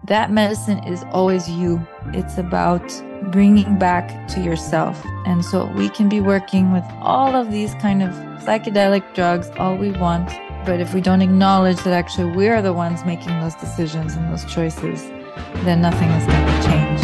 that medicine is always you. It's about bringing back to yourself. And so we can be working with all of these kind of psychedelic drugs all we want. But if we don't acknowledge that actually we're the ones making those decisions and those choices, then nothing is going to change.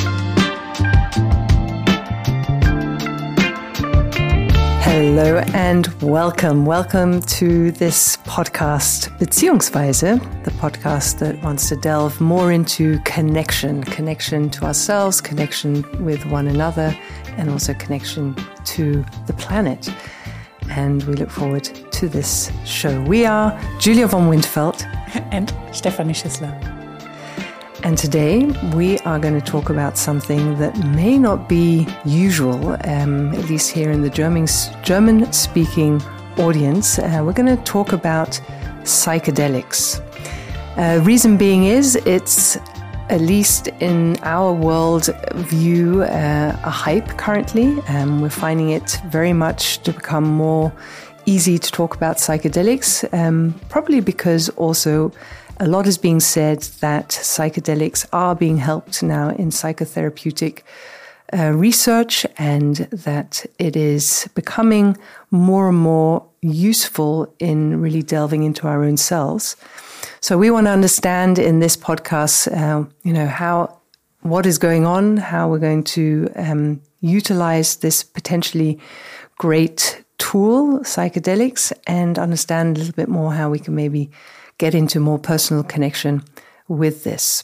Hello and welcome. Welcome to this podcast, Beziehungsweise, the podcast that wants to delve more into connection to ourselves, connection with one another, and also connection to the planet. And we look forward to this show. We are Julia von Windfeld and Stefanie Schissler. And today we are going to talk about something that may not be usual, at least here in the German-speaking audience. We're going to talk about psychedelics. Reason being is it's, at least in our world view, a hype currently. We're finding it very much to become more easy to talk about psychedelics, probably because also a lot is being said that psychedelics are being helped now in psychotherapeutic research, and that it is becoming more and more useful in really delving into our own selves. So we want to understand in this podcast, what is going on, how we're going to utilize this potentially great tool, psychedelics, and understand a little bit more how we can maybe get into more personal connection with this.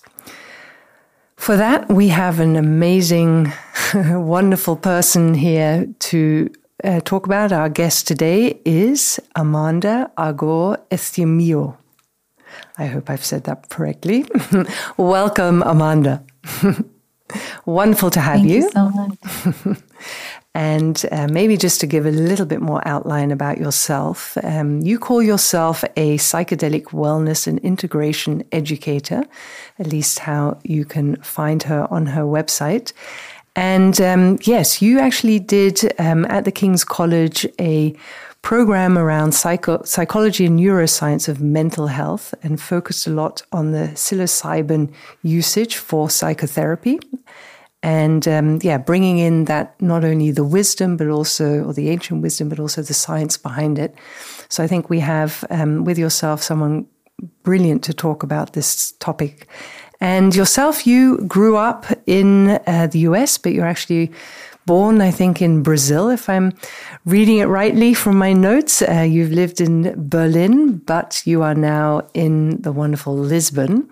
For that, we have an amazing, wonderful person here to talk about. Our guest today is Amanda Agor-Estimillo. I hope I've said that correctly. Welcome, Amanda. Wonderful to have you. Thank you so much. And maybe just to give a little bit more outline about yourself, you call yourself a psychedelic wellness and integration educator, at least how you can find her on her website. And yes, you actually did at the King's College a program around psychology and neuroscience of mental health, and focused a lot on the psilocybin usage for psychotherapy. And bringing in that not only the wisdom, but also, or the ancient wisdom, but also the science behind it. So I think we have with yourself someone brilliant to talk about this topic. And yourself, you grew up in the US, but you're actually born, I think, in Brazil, if I'm reading it rightly from my notes. You've lived in Berlin, but you are now in the wonderful Lisbon.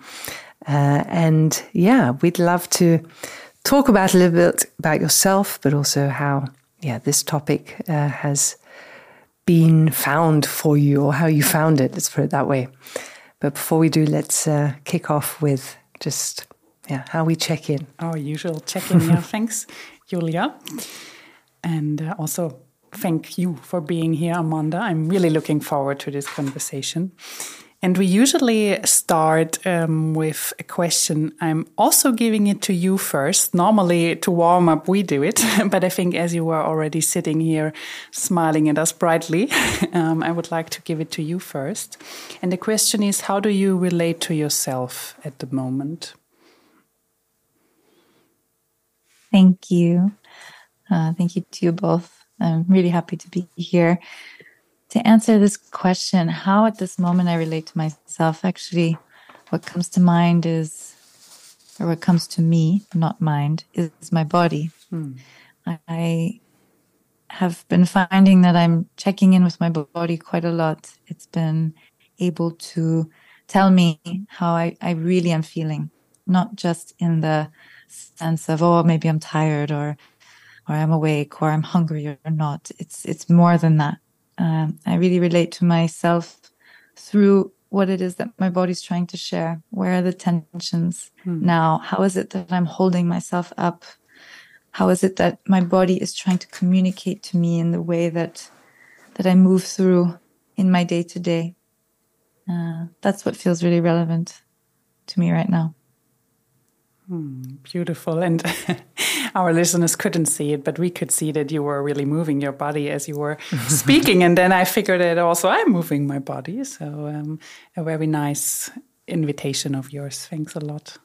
We'd love to talk about a little bit about yourself, but also how, this topic has been found for you, or how you found it. Let's put it that way. But before we do, let's kick off with just how we check in. Our usual check-in. Thanks, Julia. And also thank you for being here, Amanda. I'm really looking forward to this conversation. And we usually start with a question. I'm also giving it to you first. Normally, to warm up, we do it. But I think as you were already sitting here smiling at us brightly, I would like to give it to you first. And the question is, how do you relate to yourself at the moment? Thank you. Thank you to you both. I'm really happy to be here. To answer this question, how at this moment I relate to myself, actually, what comes to mind is, or what comes to me, not mind, is my body. I have been finding that I'm checking in with my body quite a lot. It's been able to tell me how I really am feeling, not just in the sense of, oh, maybe I'm tired or I'm awake or I'm hungry or not. It's more than that. I really relate to myself through what it is that my body's trying to share. Where are the tensions now? How is it that I'm holding myself up? How is it that my body is trying to communicate to me in the way that I move through in my day-to-day? That's what feels really relevant to me right now. Beautiful. And our listeners couldn't see it, but we could see that you were really moving your body as you were speaking. And then I figured that also I'm moving my body. So a very nice invitation of yours. Thanks a lot.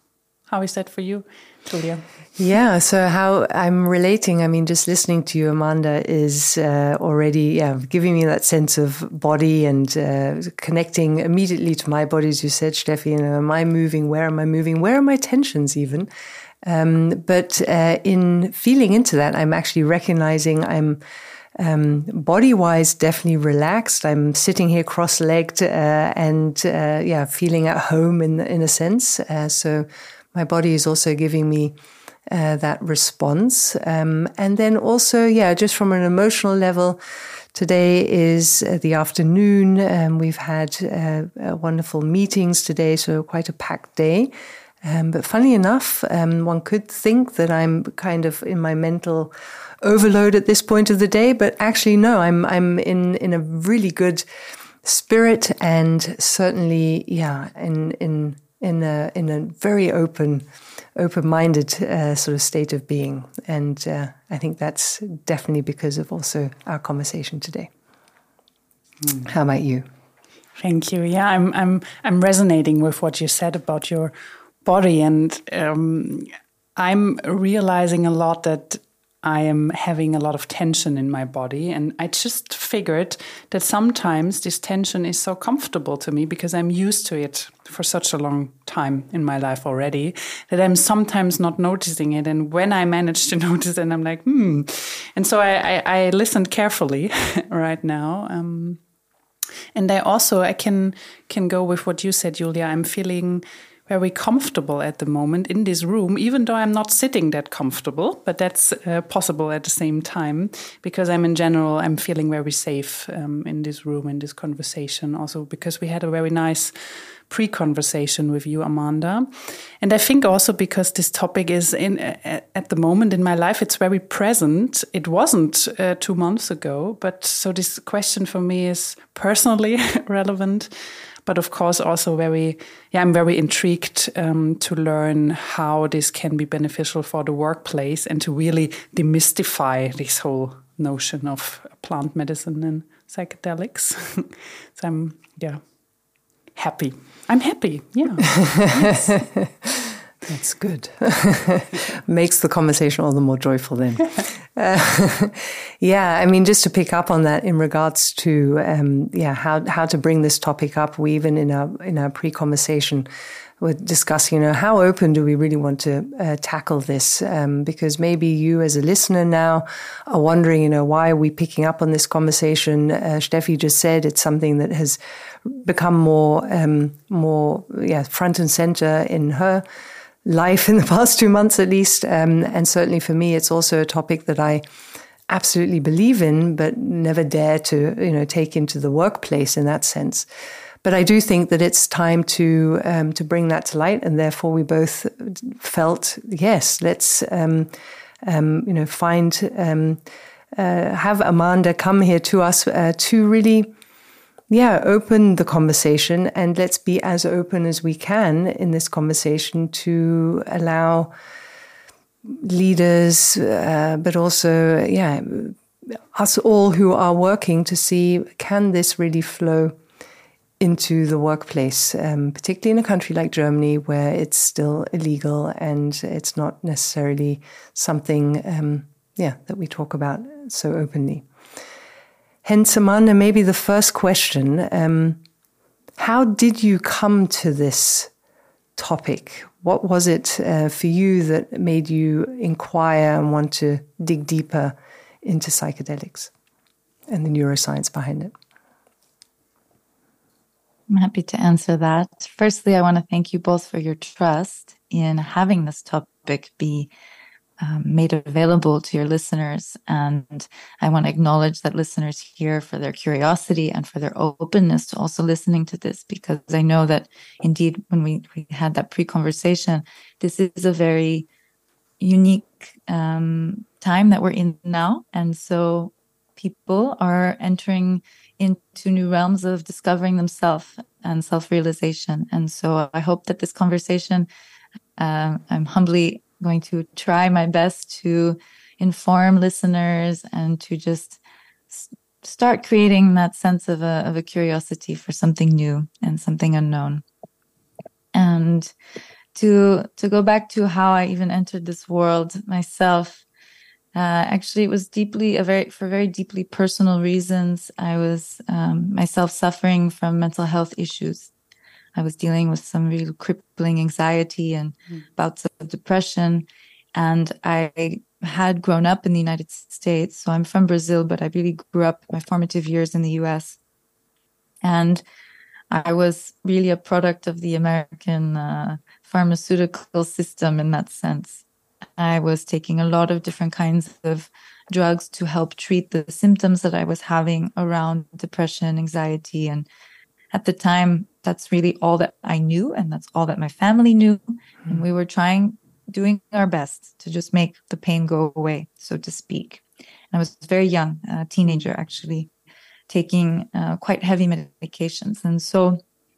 How is that for you, Julia? Yeah, so how I'm relating, I mean, just listening to you, Amanda, is already giving me that sense of body and connecting immediately to my body, as you said, Steffi. You know, am I moving? Where am I moving? Where are my tensions even? But in feeling into that, I'm actually recognizing I'm body-wise definitely relaxed. I'm sitting here cross-legged and feeling at home in a sense. So my body is also giving me that response. And then also, just from an emotional level, today is the afternoon. We've had wonderful meetings today, so quite a packed day. But funny enough, one could think that I'm kind of in my mental overload at this point of the day, but actually no, I'm in a really good spirit and certainly in a very open-minded sort of state of being, and I think that's definitely because of also our conversation today. How about you? Thank you. Yeah, I'm resonating with what you said about your body, and I'm realizing a lot that I am having a lot of tension in my body. And I just figured that sometimes this tension is so comfortable to me because I'm used to it for such a long time in my life already that I'm sometimes not noticing it. And when I manage to notice it, I'm like, And so I listened carefully right now. And I can go with what you said, Julia. I'm feeling very comfortable at the moment in this room, even though I'm not sitting that comfortable, but that's possible at the same time because I'm feeling very safe in this room, in this conversation, also because we had a very nice pre-conversation with you, Amanda. And I think also because this topic is at the moment in my life, it's very present. It wasn't 2 months ago, but so this question for me is personally relevant. But of course, also I'm very intrigued to learn how this can be beneficial for the workplace and to really demystify this whole notion of plant medicine and psychedelics. So I'm happy. I'm happy. Yeah. Yes. That's good. Makes the conversation all the more joyful then. I mean, just to pick up on that in regards to how to bring this topic up. We even in our pre-conversation were discussing, how open do we really want to tackle this? Because maybe you as a listener now are wondering, why are we picking up on this conversation? Steffi just said it's something that has become more front and center in her life in the past 2 months at least. And certainly for me, it's also a topic that I absolutely believe in, but never dare to, take into the workplace in that sense. But I do think that it's time to bring that to light. And therefore we both felt, yes, let's, have Amanda come here to us to really open the conversation, and let's be as open as we can in this conversation to allow leaders, but also, us all who are working to see, can this really flow into the workplace, particularly in a country like Germany where it's still illegal and it's not necessarily something, that we talk about so openly. Hence, Amanda, maybe the first question, how did you come to this topic? What was it for you that made you inquire and want to dig deeper into psychedelics and the neuroscience behind it? I'm happy to answer that. Firstly, I want to thank you both for your trust in having this topic be made available to your listeners. And I want to acknowledge that listeners here for their curiosity and for their openness to also listening to this, because I know that indeed when we had that pre-conversation, this is a very unique time that we're in now. And so people are entering into new realms of discovering themselves and self-realization. And so I hope that this conversation, I'm humbly going to try my best to inform listeners and to just start creating that sense of a curiosity for something new and something unknown. And to go back to how I even entered this world myself, actually, it was for very deeply personal reasons. I was myself suffering from mental health issues. I was dealing with some really crippling anxiety and bouts of depression. And I had grown up in the United States. So I'm from Brazil, but I really grew up my formative years in the US. And I was really a product of the American pharmaceutical system in that sense. I was taking a lot of different kinds of drugs to help treat the symptoms that I was having around depression, anxiety. And at the time, that's really all that I knew. And that's all that my family knew. And we were doing our best to just make the pain go away, so to speak. And I was very young, a teenager, actually, taking quite heavy medications. And so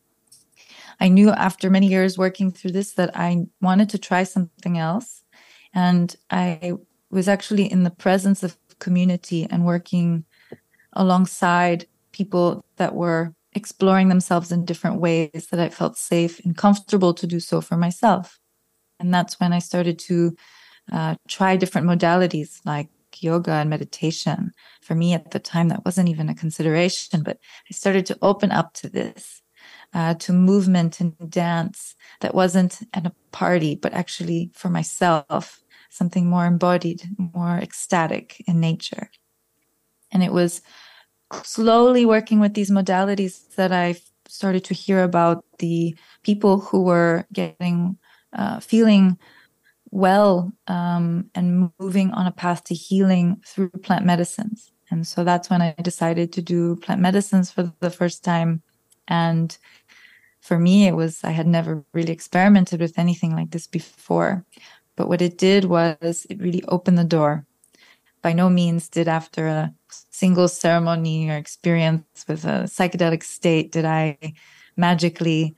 I knew after many years working through this that I wanted to try something else. And I was actually in the presence of community and working alongside people that were exploring themselves in different ways that I felt safe and comfortable to do so for myself. And that's when I started to try different modalities like yoga and meditation. For me at the time, that wasn't even a consideration, but I started to open up to this, to movement and dance that wasn't at a party, but actually for myself, something more embodied, more ecstatic in nature. And it was slowly working with these modalities that I started to hear about the people who were feeling well and moving on a path to healing through plant medicines. And so that's when I decided to do plant medicines for the first time. And for me, I had never really experimented with anything like this before. But what it did was it really opened the door. By no means did after a single ceremony or experience with a psychedelic state did it magically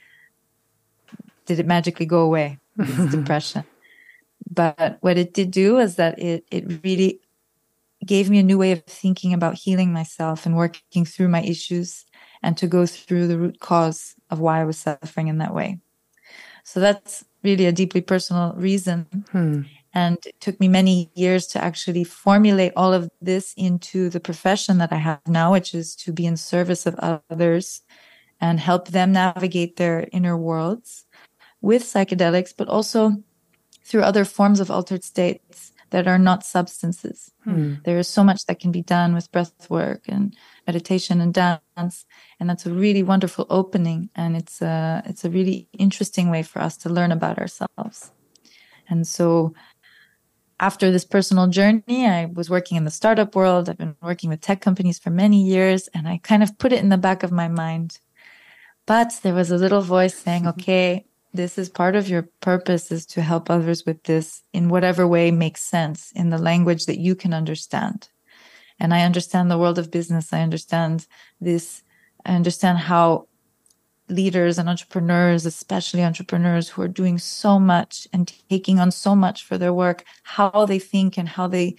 go away, this depression. But what it did do is that it really gave me a new way of thinking about healing myself and working through my issues and to go through the root cause of why I was suffering in that way. So that's really a deeply personal reason. And it took me many years to actually formulate all of this into the profession that I have now, which is to be in service of others and help them navigate their inner worlds with psychedelics, but also through other forms of altered states that are not substances. There is so much that can be done with breath work and meditation and dance. And that's a really wonderful opening. And it's a really interesting way for us to learn about ourselves. And so after this personal journey, I was working in the startup world. I've been working with tech companies for many years, and I kind of put it in the back of my mind. But there was a little voice saying, okay, this is part of your purpose, is to help others with this in whatever way makes sense, in the language that you can understand. And I understand the world of business. I understand this. I understand how leaders and entrepreneurs, especially entrepreneurs who are doing so much and taking on so much for their work, how they think and how they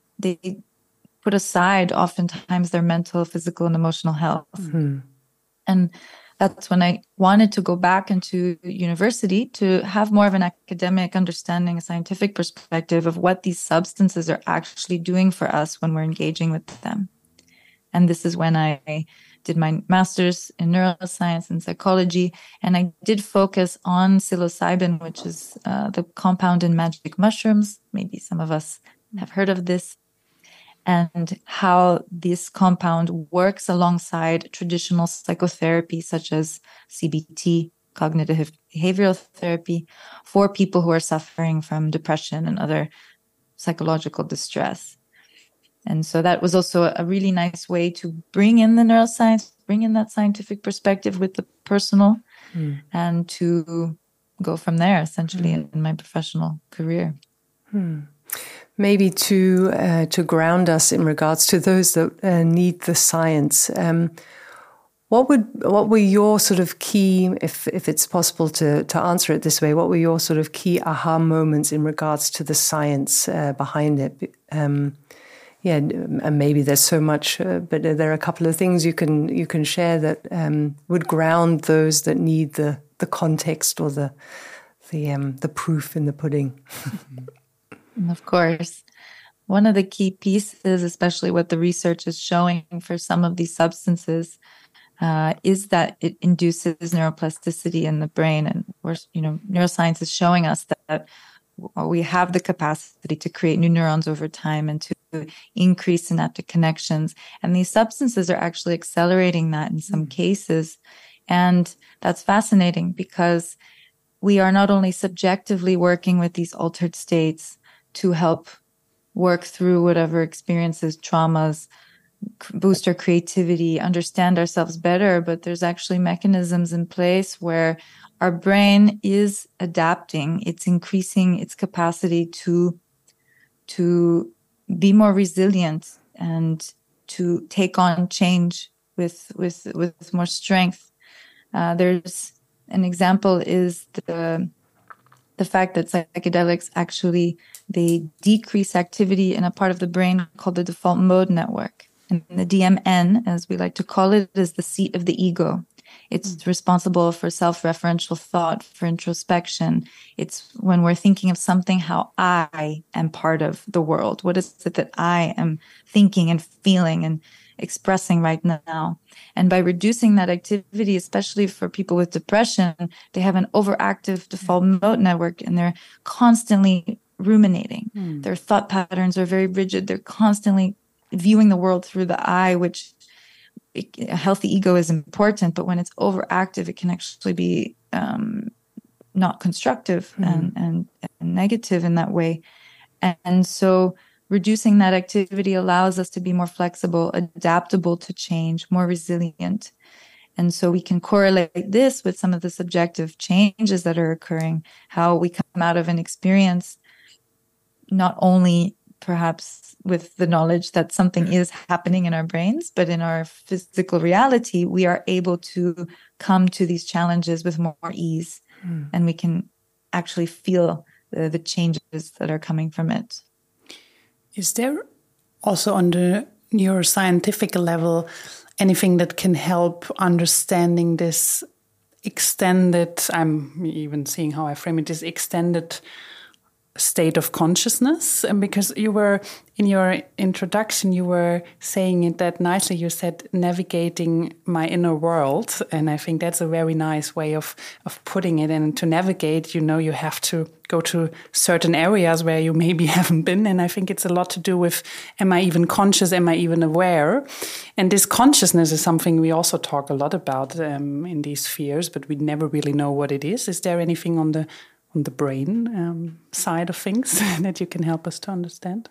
put aside oftentimes their mental, physical, and emotional health. And that's when I wanted to go back into university to have more of an academic understanding, a scientific perspective of what these substances are actually doing for us when we're engaging with them. And this is when I did my master's in neuroscience and psychology. And I did focus on psilocybin, which is the compound in magic mushrooms. Maybe some of us have heard of this. And how this compound works alongside traditional psychotherapy, such as CBT, cognitive behavioral therapy, for people who are suffering from depression and other psychological distress. And so that was also a really nice way to bring in the neuroscience, bring in that scientific perspective with the personal, and to go from there, essentially, in my professional career. Maybe to ground us in regards to those that need the science, what were your sort of key, if it's possible to answer it this way, what were your sort of key aha moments in regards to the science behind it? And maybe there's so much, but there are a couple of things you can share that would ground those that need the context or the the proof in the pudding. Of course. One of the key pieces, especially what the research is showing for some of these substances, is that it induces neuroplasticity in the brain. And neuroscience is showing us that we have the capacity to create new neurons over time and to increase synaptic connections. And these substances are actually accelerating that in some cases. And that's fascinating because we are not only subjectively working with these altered states to help work through whatever experiences, traumas, boost our creativity, understand ourselves better, but there's actually mechanisms in place where our brain is adapting. It's increasing its capacity to be more resilient and to take on change with more strength. There's an example is the fact that psychedelics actually, they decrease activity in a part of the brain called the default mode network. And the DMN, as we like to call it, is the seat of the ego. It's responsible for self-referential thought, for introspection. It's when we're thinking of something, how I am part of the world. What is it that I am thinking and feeling and expressing right now? And by reducing that activity, especially for people with depression, they have an overactive default mode network and they're constantly ruminating. Their thought patterns are very rigid. They're constantly viewing the world through the eye, which a healthy ego is important, but when it's overactive, it can actually be not constructive and negative in that way. And so reducing that activity allows us to be more flexible, adaptable to change, more resilient. And so we can correlate this with some of the subjective changes that are occurring, how we come out of an experience, not only perhaps with the knowledge that something is happening in our brains, but in our physical reality, we are able to come to these challenges with more ease, and we can actually feel the changes that are coming from it. Is there also on the neuroscientific level anything that can help understanding this extended, I'm even seeing how I frame it, this extended state of consciousness? And because you were, in your introduction, you were saying it that nicely. You said navigating my inner world. And I think that's a very nice way of putting it. And to navigate, you have to go to certain areas where you maybe haven't been. And I think it's a lot to do with, am I even conscious? Am I even aware? And this consciousness is something we also talk a lot about in these spheres, but we never really know what it is. Is there anything on the brain side of things that you can help us to understand?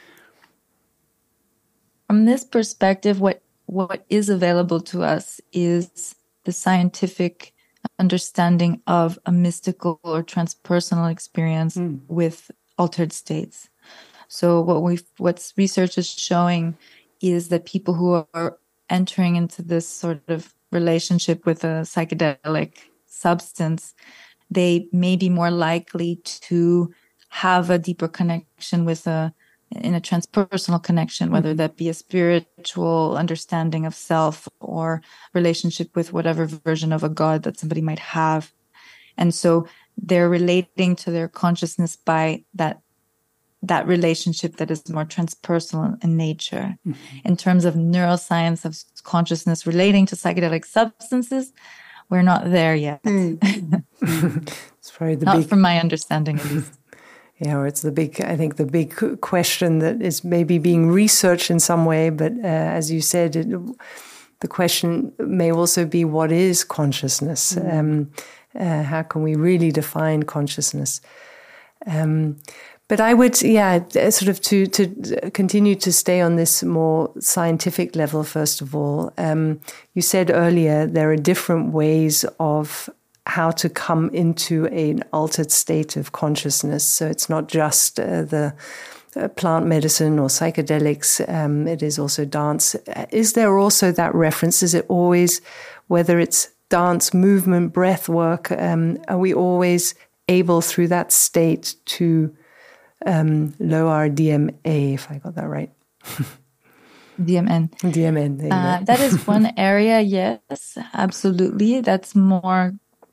From this perspective, what is available to us is the scientific understanding of a mystical or transpersonal experience with altered states. So what research is showing is that people who are entering into this sort of relationship with a psychedelic substance, they may be more likely to have a deeper connection in a transpersonal connection, whether that be a spiritual understanding of self or relationship with whatever version of a God that somebody might have. And so they're relating to their consciousness by that relationship that is more transpersonal in nature. In terms of neuroscience of consciousness relating to psychedelic substances, we're not there yet. It's probably not from my understanding, at least. Yeah, or it's the big question that is maybe being researched in some way. But as you said, the question may also be, what is consciousness? How can we really define consciousness? But I would, sort of to continue to stay on this more scientific level, first of all. You said earlier there are different ways of how to come into an altered state of consciousness. So it's not just the plant medicine or psychedelics, it is also dance. Is there also that reference? Is it always, whether it's dance, movement, breath work, are we always able through that state to lower our DMA, if I got that right? DMN. DMN. That is one area, yes, absolutely. That's more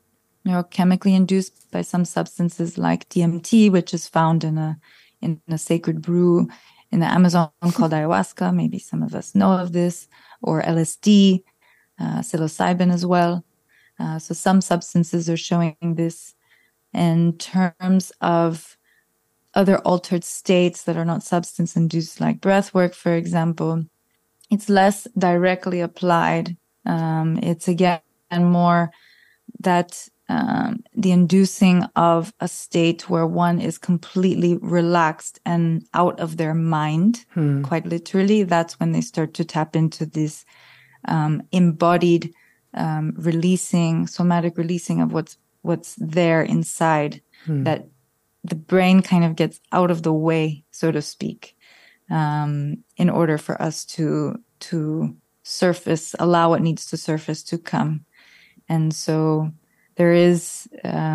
neurochemically induced by some substances like DMT, which is found in a sacred brew in the Amazon called ayahuasca. Maybe some of us know of this, or LSD, psilocybin as well. So some substances are showing this. In terms of other altered states that are not substance-induced, like breath work, for example, it's less directly applied. It's again more that the inducing of a state where one is completely relaxed and out of their mind, quite literally. That's when they start to tap into this embodied releasing, somatic releasing of what's there inside, that the brain kind of gets out of the way, so to speak, in order for us to surface, allow what needs to surface to come. And so there is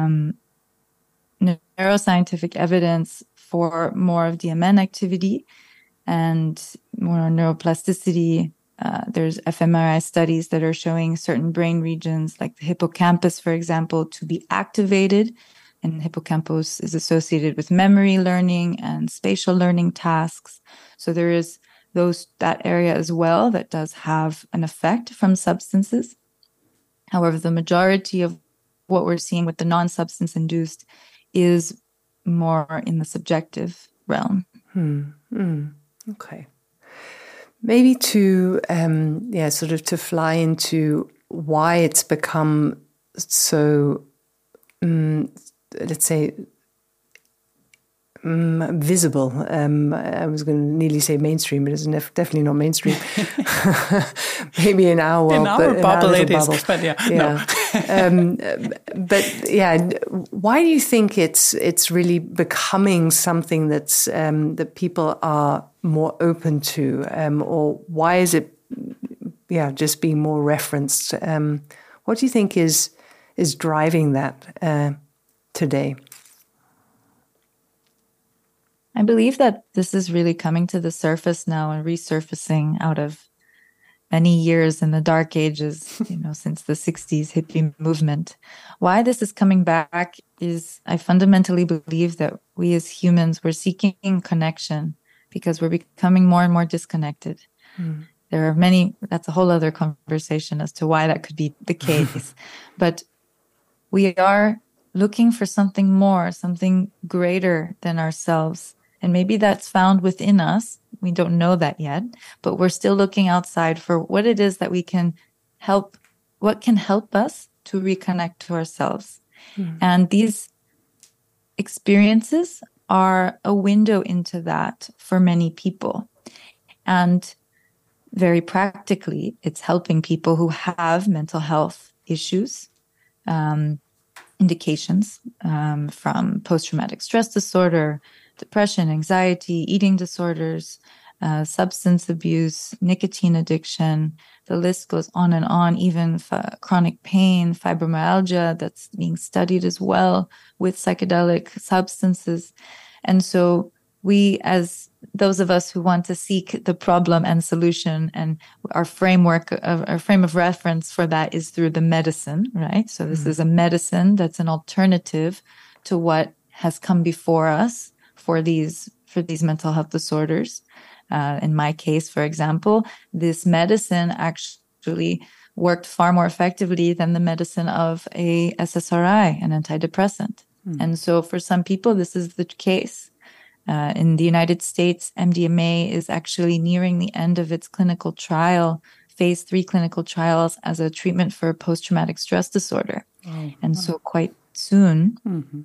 neuroscientific evidence for more of DMN activity and more neuroplasticity. There's fMRI studies that are showing certain brain regions, like the hippocampus, for example, to be activated. And hippocampus is associated with memory learning and spatial learning tasks. So there is that area as well that does have an effect from substances. However, the majority of what we're seeing with the non-substance induced is more in the subjective realm. Okay. Maybe to, sort of to fly into why it's become so, let's say, visible. I was going to nearly say mainstream, but it's definitely not mainstream. Maybe in our world, in our little bubble. But why do you think it's really becoming something that's that people are more open to, or why is it, just being more referenced? What do you think is driving that today? I believe that this is really coming to the surface now and resurfacing out of many years in the dark ages, since the 60s hippie movement. Why this is coming back is I fundamentally believe that we as humans, we're seeking connection because we're becoming more and more disconnected. There are many, that's a whole other conversation as to why that could be the case. But we are looking for something more, something greater than ourselves. And maybe that's found within us. We don't know that yet, but we're still looking outside for what it is that we can help, what can help us to reconnect to ourselves. And these experiences are a window into that for many people. And very practically, it's helping people who have mental health issues, indications from post-traumatic stress disorder, depression, anxiety, eating disorders, substance abuse, nicotine addiction. The list goes on and on, even chronic pain, fibromyalgia that's being studied as well with psychedelic substances. And so we, as those of us who want to seek the problem and solution, and our frame of reference for that is through the medicine, right? So this is a medicine that's an alternative to what has come before us for these mental health disorders. In my case, for example, this medicine actually worked far more effectively than the medicine of a SSRI, an antidepressant. And so for some people, this is the case. In the United States, MDMA is actually nearing the end of its clinical trial, phase 3 clinical trials as a treatment for post-traumatic stress disorder. So quite soon,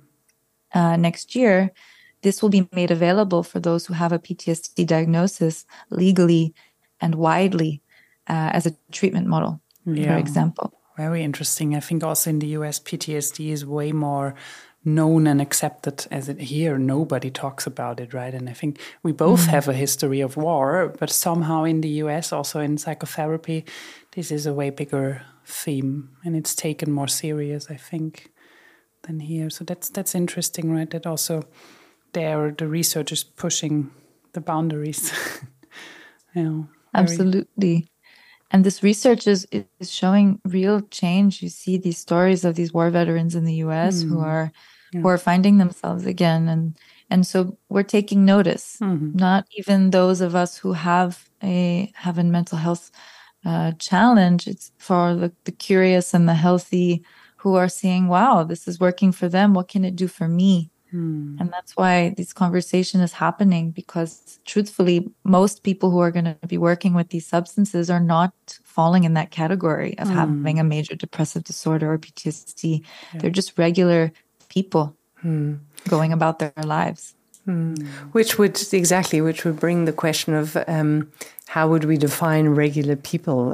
next year, this will be made available for those who have a PTSD diagnosis legally and widely as a treatment model, for example. Very interesting. I think also in the US, PTSD is way more known and accepted as it here. Nobody talks about it, right? And I think we both have a history of war, but somehow in the US, also in psychotherapy, this is a way bigger theme, and it's taken more serious, I think, than here. So that's interesting, right? That also there the research is pushing the boundaries. Absolutely. And this research is showing real change. You see these stories of these war veterans in the US who are finding themselves again. And so we're taking notice, not even those of us who have a mental health challenge. It's for the curious and the healthy who are seeing, wow, this is working for them. What can it do for me? And that's why this conversation is happening, because truthfully, most people who are going to be working with these substances are not falling in that category of having a major depressive disorder or PTSD. Yeah. They're just regular people going about their lives. Which would bring the question of how would we define regular people?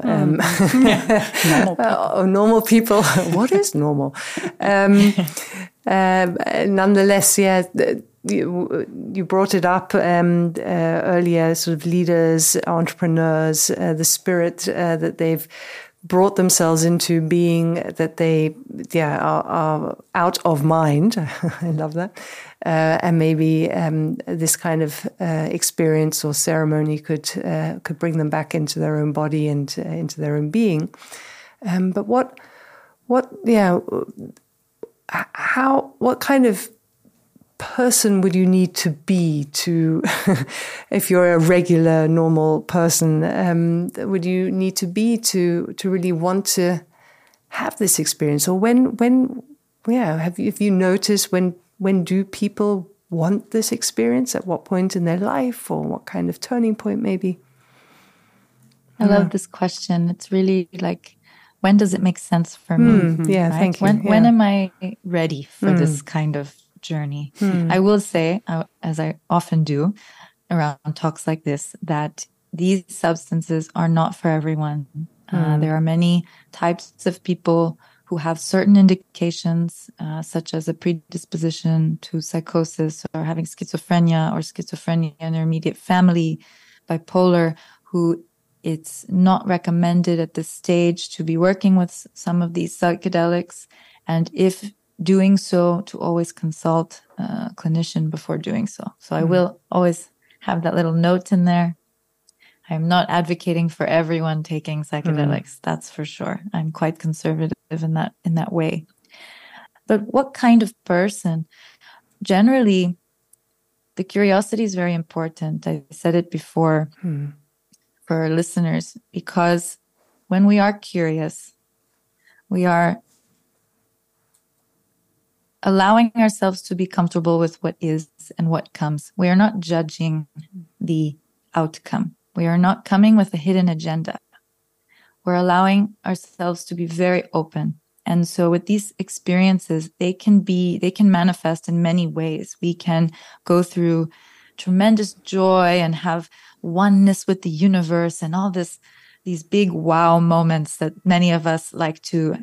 Normal people. What is normal? Nonetheless, you brought it up earlier, sort of leaders, entrepreneurs, the spirit that they've brought themselves into being, that they are out of mind. I love that. And maybe this kind of experience or ceremony could bring them back into their own body and into their own being. But what kind of person would you need to be to, if you're a regular, normal person, would you need to be to really want to have this experience? Or have you noticed when do people want this experience? At what point in their life, or what kind of turning point maybe? I love this question. It's really like, when does it make sense for me? Yeah, right? Thank you. When am I ready for this kind of journey? I will say, as I often do around talks like this, that these substances are not for everyone. There are many types of people who have certain indications, such as a predisposition to psychosis or having schizophrenia in their immediate family, bipolar, who it's not recommended at this stage to be working with some of these psychedelics. And if doing so, to always consult a clinician before doing so. So I will always have that little note in there. I'm not advocating for everyone taking psychedelics, that's for sure. I'm quite conservative in that way. But what kind of person? Generally, the curiosity is very important. I said it before for our listeners, because when we are curious, we are allowing ourselves to be comfortable with what is and what comes. We are not judging the outcome. We are not coming with a hidden agenda. We're allowing ourselves to be very open. And so with these experiences, they can manifest in many ways. We can go through tremendous joy and have oneness with the universe and all these big wow moments that many of us like to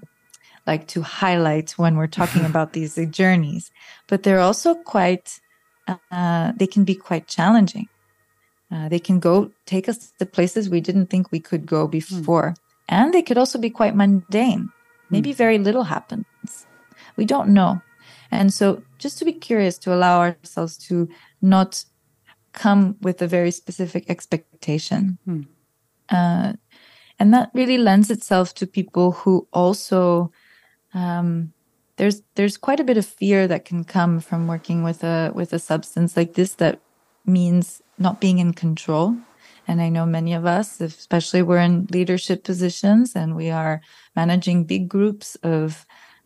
highlight when we're talking about these journeys. But they're also they can be quite challenging. They can take us to places we didn't think we could go before. And they could also be quite mundane. Maybe very little happens. We don't know. And so just to be curious, to allow ourselves to not come with a very specific expectation. And that really lends itself to people who also, there's quite a bit of fear that can come from working with a substance like this that means not being in control. And I know many of us, especially we're in leadership positions and we are managing big groups of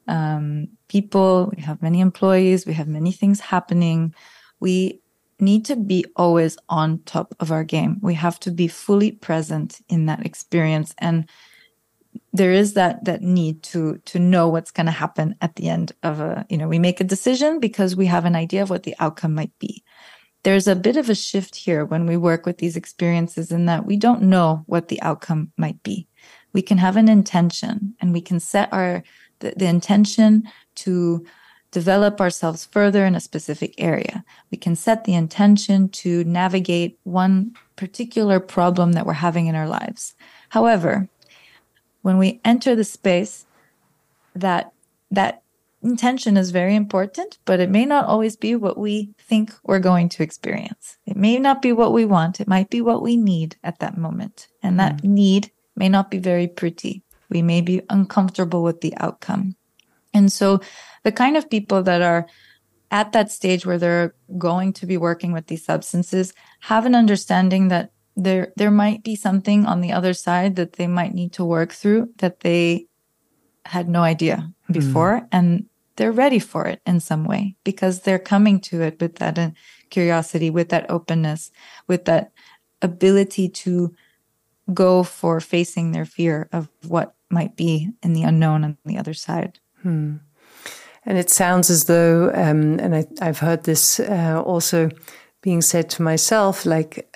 people. We have many employees. We have many things happening. We need to be always on top of our game. We have to be fully present in that experience. And there is that need to know what's going to happen at the end of we make a decision because we have an idea of what the outcome might be. There's a bit of a shift here when we work with these experiences in that we don't know what the outcome might be. We can have an intention and we can set the intention to develop ourselves further in a specific area. We can set the intention to navigate one particular problem that we're having in our lives. However, when we enter the space, that intention is very important, but it may not always be what we think we're going to experience. It may not be what we want. It might be what we need at that moment. And that need may not be very pretty. We may be uncomfortable with the outcome. And so the kind of people that are at that stage where they're going to be working with these substances have an understanding that there might be something on the other side that they might need to work through that they had no idea before. And they're ready for it in some way because they're coming to it with that curiosity, with that openness, with that ability to go for facing their fear of what might be in the unknown on the other side. And it sounds as though, and I've heard this also being said to myself, like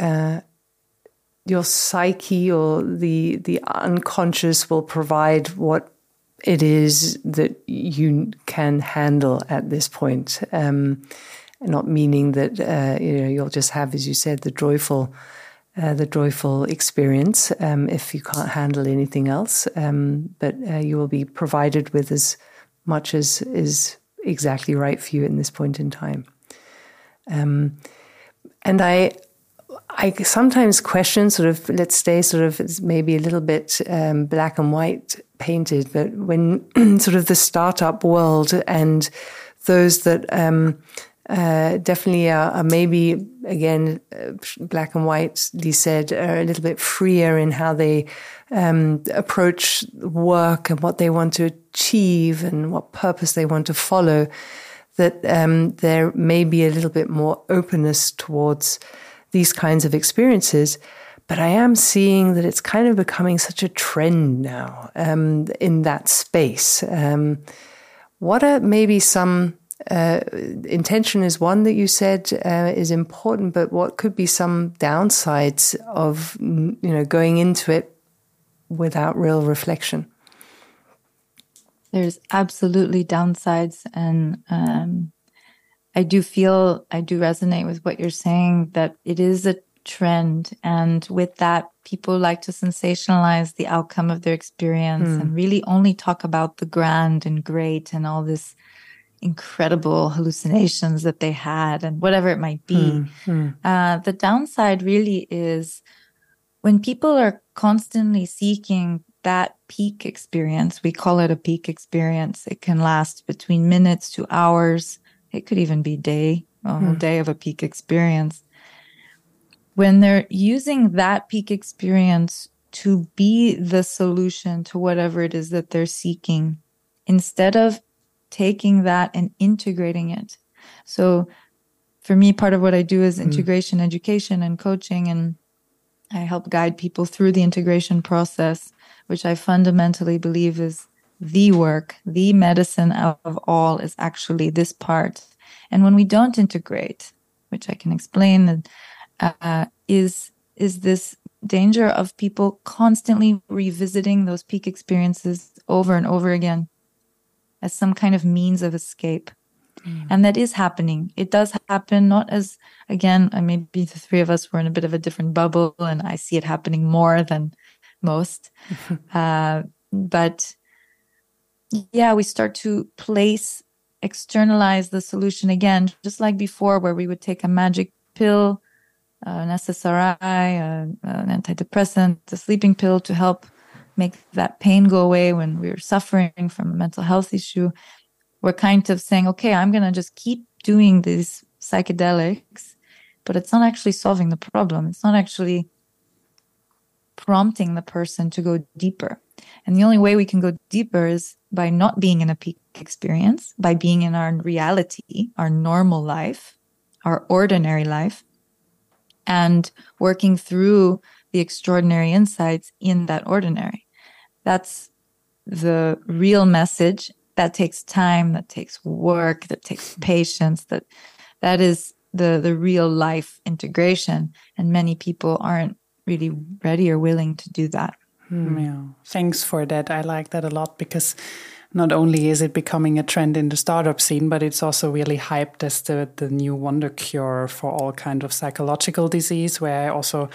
your psyche or the unconscious will provide what it is that you can handle at this point. Not meaning that you'll just have, as you said, the joyful experience if you can't handle anything else. But you will be provided with as much as is exactly right for you in this point in time. And I sometimes question sort of, let's stay sort of maybe a little bit black and white painted, but when sort of the startup world and those that definitely are maybe, again, black and whitely said, are a little bit freer in how they approach work and what they want to achieve and what purpose they want to follow, that there may be a little bit more openness towards these kinds of experiences. But I am seeing that it's kind of becoming such a trend now in that space. What are maybe some intention is one that you said is important, but what could be some downsides of going into it without real reflection? There's absolutely downsides, and I do resonate with what you're saying, that it is a trend, and with that, people like to sensationalize the outcome of their experience and really only talk about the grand and great and all this incredible hallucinations that they had and whatever it might be. The downside really is when people are constantly seeking that peak experience. We call it a peak experience. It can last between minutes to hours. It could even be a whole day of a peak experience. When they're using that peak experience to be the solution to whatever it is that they're seeking, instead of taking that and integrating it. So for me, part of what I do is integration education and coaching, and I help guide people through the integration process, which I fundamentally believe is the work, the medicine of all is actually this part. And when we don't integrate, which I can explain, is this danger of people constantly revisiting those peak experiences over and over again as some kind of means of escape. And that is happening. It does happen, not as, again, maybe the three of us were in a bit of a different bubble and I see it happening more than most. But yeah, we start to externalize the solution again, just like before, where we would take a magic pill, an SSRI, an antidepressant, a sleeping pill to help make that pain go away when we're suffering from a mental health issue. We're kind of saying, okay, I'm going to just keep doing these psychedelics, but it's not actually solving the problem. It's not actually prompting the person to go deeper. And the only way we can go deeper is by not being in a peak experience, by being in our reality, our normal life, our ordinary life, and working through the extraordinary insights in that ordinary. That's the real message. That takes time, that takes work, that takes patience, that is the real life integration. And many people aren't really ready or willing to do that. Yeah, thanks for that. I like that a lot, because not only is it becoming a trend in the startup scene, but it's also really hyped as the new wonder cure for all kind of psychological disease, where also,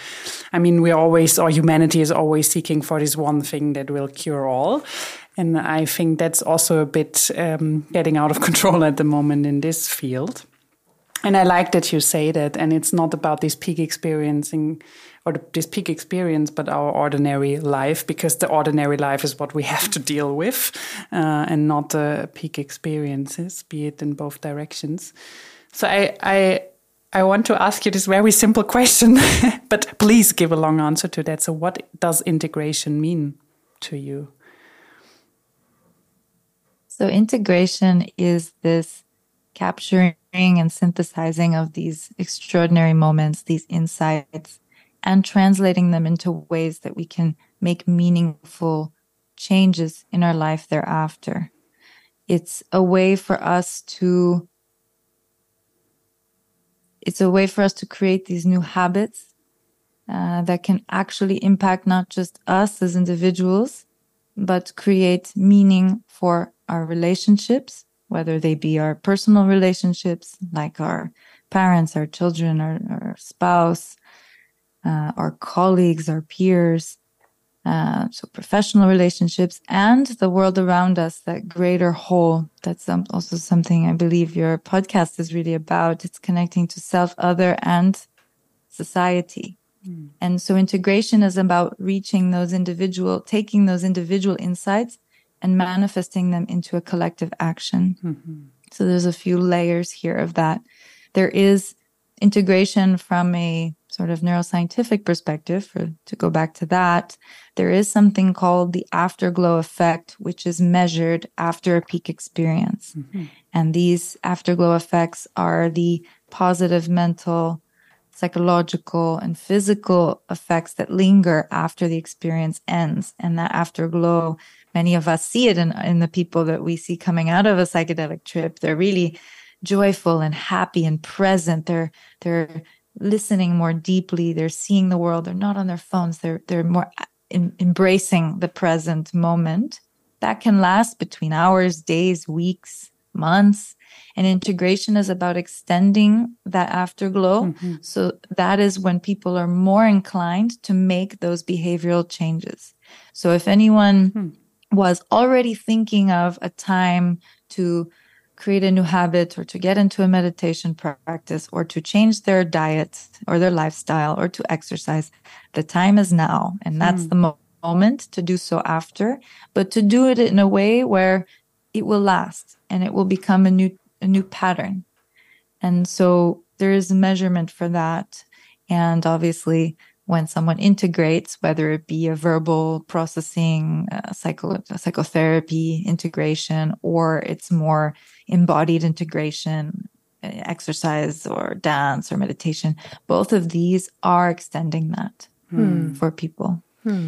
humanity is always seeking for this one thing that will cure all. And I think that's also a bit getting out of control at the moment in this field. And I like that you say that, and it's not about this peak experiencing or this peak experience, but our ordinary life, because the ordinary life is what we have to deal with, and not the peak experiences, be it in both directions. So I want to ask you this very simple question, but please give a long answer to that. So what does integration mean to you? So integration is this capturing and synthesizing of these extraordinary moments, these insights, and translating them into ways that we can make meaningful changes in our life thereafter. It's a way for us to create these new habits that can actually impact not just us as individuals, but create meaning for our relationships, whether they be our personal relationships, like our parents, our children, our spouse, our colleagues, our peers, so professional relationships, and the world around us, that greater whole. That's also something I believe your podcast is really about. It's connecting to self, other, and society. And so integration is about taking those individual insights and manifesting them into a collective action. So there's a few layers here of that. There is integration from a sort of neuroscientific perspective. To go back to that, there is something called the afterglow effect, which is measured after a peak experience. And these afterglow effects are the positive mental, psychological, and physical effects that linger after the experience ends. And that afterglow, many of us see it in the people that we see coming out of a psychedelic trip. They're really joyful and happy and present. They're listening more deeply. They're seeing the world. They're not on their phones. They're more embracing the present moment. That can last between hours, days, weeks, months. And integration is about extending that afterglow. So that is when people are more inclined to make those behavioral changes. So if anyone was already thinking of a time to create a new habit, or to get into a meditation practice, or to change their diet or their lifestyle, or to exercise, the time is now. And that's the moment to do so after, but to do it in a way where it will last and it will become a new pattern. And so there is a measurement for that. And obviously, when someone integrates, whether it be a verbal processing, psychotherapy integration, or it's more embodied integration, exercise or dance or meditation, both of these are extending that for people.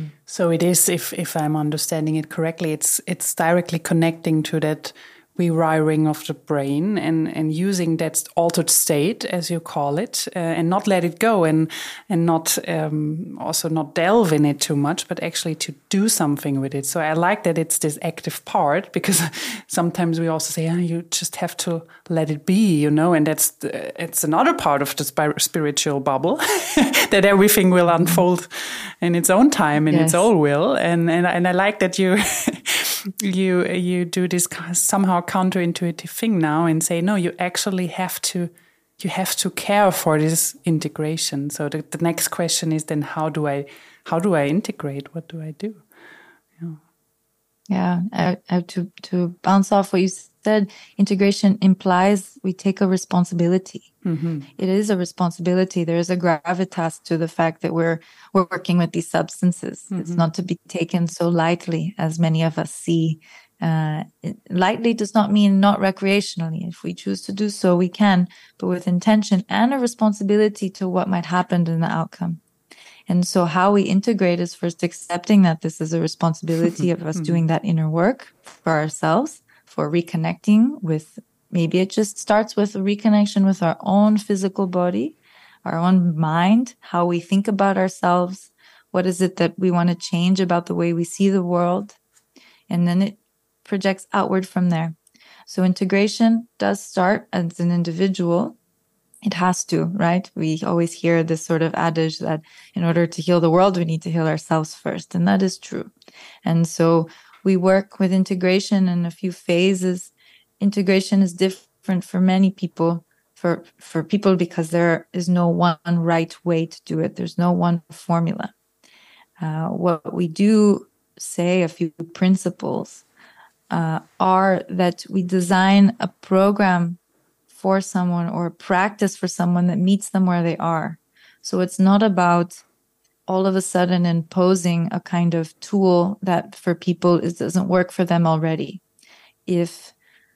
So it is, if I'm understanding it correctly, it's directly connecting to that rewiring of the brain and using that altered state, as you call it, and not let it go and not also not delve in it too much, but actually to do something with it. So I like that it's this active part, because sometimes we also say, you just have to let it be, and it's another part of the spiritual bubble that everything will unfold in its own time, in its own will. And I like that you you do this somehow counterintuitive thing now and say, no, you actually have to care for this integration. So the next question is then, how do I integrate? What do I do? To bounce off what you said, integration implies we take a responsibility. It is a responsibility. There is a gravitas to the fact that we're working with these substances. It's not to be taken so lightly as many of us see. Lightly does not mean not recreationally. If we choose to do so, we can, but with intention and a responsibility to what might happen in the outcome. And so how we integrate is first accepting that this is a responsibility of us doing that inner work for ourselves, for reconnecting with, maybe it just starts with a reconnection with our own physical body, our own mind, how we think about ourselves. What is it that we want to change about the way we see the world? And then it projects outward from there. So integration does start as an individual. It has to, right? We always hear this sort of adage that in order to heal the world, we need to heal ourselves first. And that is true. And so we work with integration in a few phases. Integration is different for many people. for people because there is no one right way to do it. There's no one formula. What we do say, a few principles, are that we design a program for someone or a practice for someone that meets them where they are. So it's not about all of a sudden imposing a kind of tool that for people it doesn't work for them already. If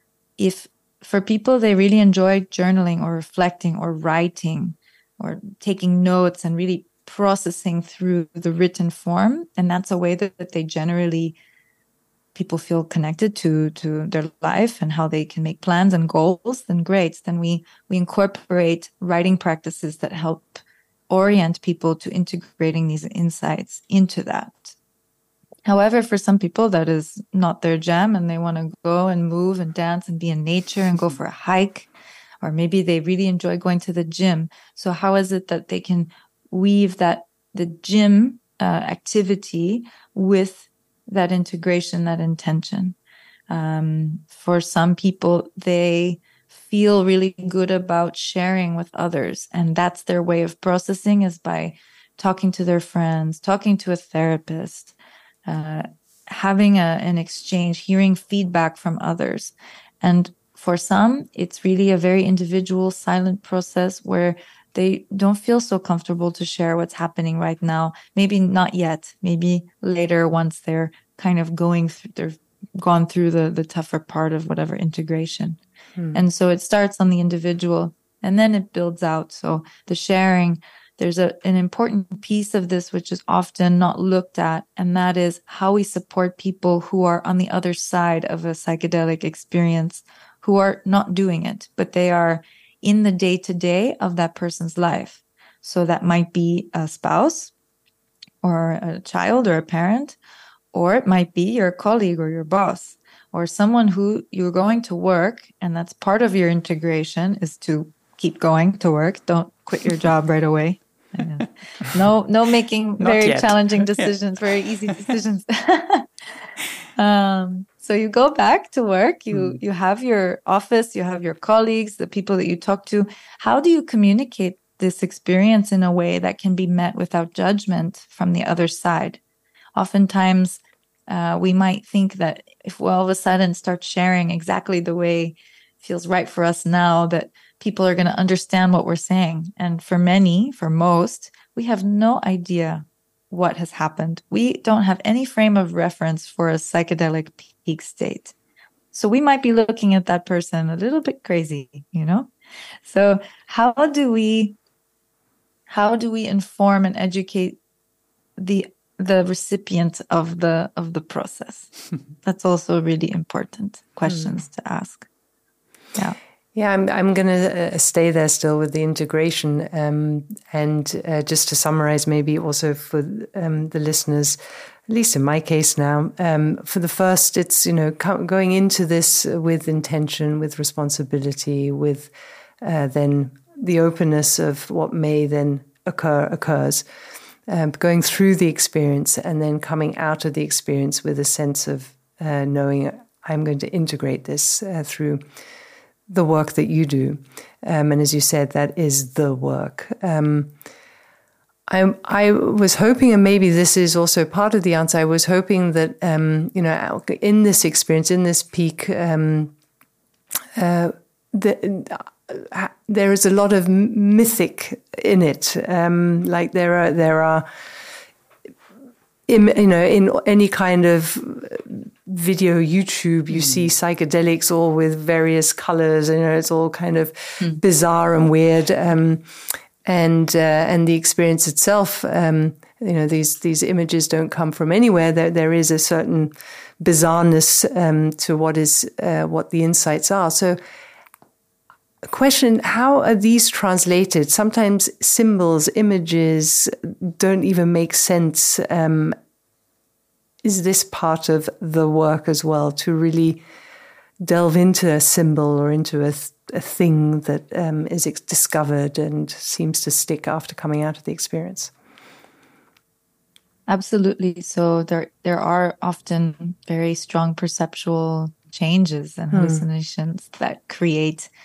for people they really enjoy journaling or reflecting or writing or taking notes and really processing through the written form, and that's a way that they generally people feel connected to their life and how they can make plans and goals, then great. Then we incorporate writing practices that help orient people to integrating these insights into that. However, for some people, that is not their jam and they want to go and move and dance and be in nature and go for a hike, or maybe they really enjoy going to the gym. So how is it that they can weave the gym activity with that integration, that intention? For some people, they feel really good about sharing with others. And that's their way of processing, is by talking to their friends, talking to a therapist, having an exchange, hearing feedback from others. And for some, it's really a very individual, silent process where they don't feel so comfortable to share what's happening right now. Maybe not yet, maybe later once they're kind of they've gone through the tougher part of whatever integration. And so it starts on the individual and then it builds out. So the sharing, there's an important piece of this which is often not looked at, and that is how we support people who are on the other side of a psychedelic experience, who are not doing it, but they are in the day-to-day of that person's life. So that might be a spouse or a child or a parent, or it might be your colleague or your boss, or someone who you're going to work, and that's part of your integration is to keep going to work. Don't quit your job right away. No making very challenging decisions, very easy decisions. So you go back to work, you have your office, you have your colleagues, the people that you talk to. How do you communicate this experience in a way that can be met without judgment from the other side? Oftentimes, we might think that if we all of a sudden start sharing exactly the way it feels right for us now, that people are going to understand what we're saying. And for most, we have no idea what has happened. We don't have any frame of reference for a psychedelic peak state. So we might be looking at that person a little bit crazy, So how do we inform and educate the recipient of the process? That's also really important questions to ask. Yeah, I'm going to stay there still with the integration, and just to summarize, maybe also for the listeners, at least in my case now, for the first, it's going into this with intention, with responsibility, with then the openness of what may then occurs. Going through the experience and then coming out of the experience with a sense of knowing I'm going to integrate this through the work that you do. And as you said, that is the work. I was hoping, and maybe this is also part of the answer, I was hoping that, in this experience, in this peak, there is a lot of mythic in it. Like there are, in any kind of video, YouTube, you see psychedelics all with various colors. It's all kind of bizarre and weird. And the experience itself, these images don't come from anywhere. There is a certain bizarreness to what the insights are. So, a question, how are these translated? Sometimes symbols, images don't even make sense. Is this part of the work as well, to really delve into a symbol or into a thing that is discovered and seems to stick after coming out of the experience? Absolutely. So there are often very strong perceptual changes and hallucinations that create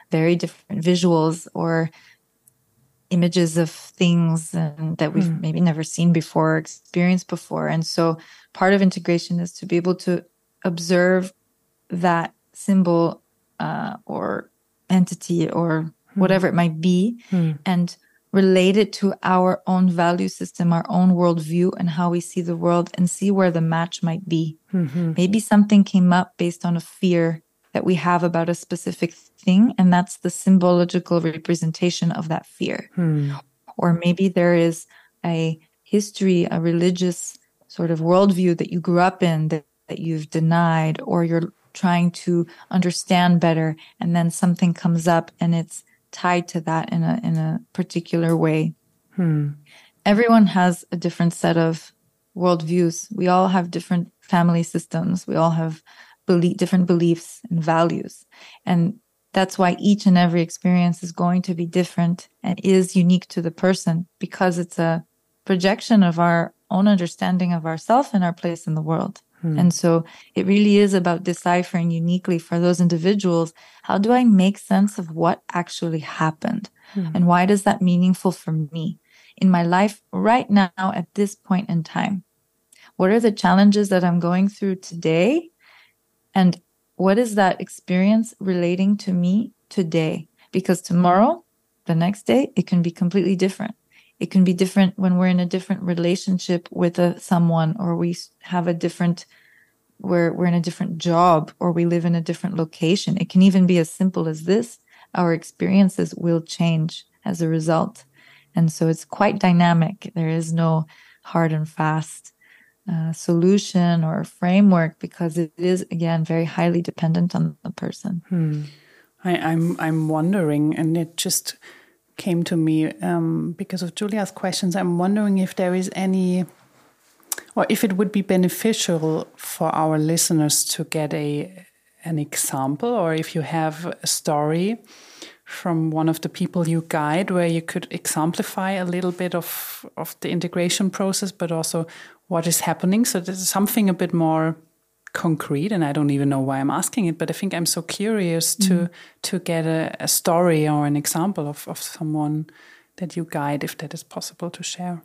very different visuals or images of things and that we've maybe never seen before or experienced before. And so part of integration is to be able to observe that symbol or entity or whatever it might be and relate it to our own value system, our own worldview, and how we see the world, and see where the match might be. Maybe something came up based on a fear that we have about a specific thing, and that's the symbological representation of that fear. Or maybe there is a history, a religious sort of worldview that you grew up in that you've denied, or you're trying to understand better, and then something comes up and it's tied to that in a particular way. Everyone has a different set of worldviews. We all have different family systems. We all have different beliefs and values. And that's why each and every experience is going to be different and is unique to the person, because it's a projection of our own understanding of ourselves and our place in the world. And so it really is about deciphering uniquely for those individuals, how do I make sense of what actually happened? And why is that meaningful for me in my life right now at this point in time? What are the challenges that I'm going through today? And what is that experience relating to me today? Because tomorrow, the next day, it can be completely different. It can be different when we're in a different relationship with someone, or we have we're in a different job, or we live in a different location. It can even be as simple as this. Our experiences will change as a result. And so it's quite dynamic. There is no hard and fast solution or framework, because it is, again, very highly dependent on the person. I'm wondering, and it just came to me because of Julia's questions. I'm wondering if there is any, or if it would be beneficial for our listeners to get an example, or if you have a story from one of the people you guide where you could exemplify a little bit of the integration process, but also what is happening. So this is something a bit more concrete, and I don't even know why I'm asking it, but I think I'm so curious to get a story or an example of someone that you guide, if that is possible to share.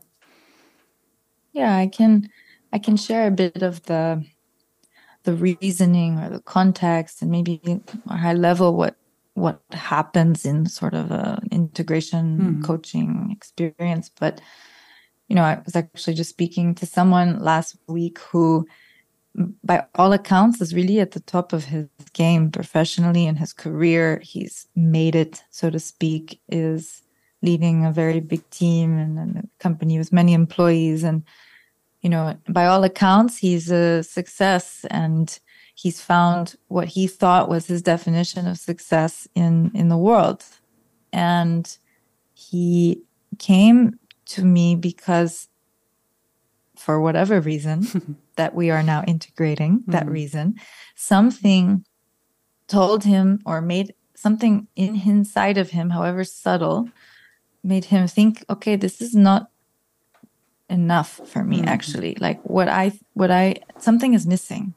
Yeah, I can share a bit of the reasoning or the context, and maybe a high level what happens in sort of a integration coaching experience. But I was actually just speaking to someone last week who, by all accounts, is really at the top of his game professionally in his career. He's made it, so to speak, is leading a very big team and a company with many employees. And, by all accounts, he's a success, and he's found what he thought was his definition of success in the world. And he came to me because, for whatever reason that we are now integrating, that reason, something told him, or made something inside of him, however subtle, made him think, okay, this is not enough for me, actually. Like something is missing.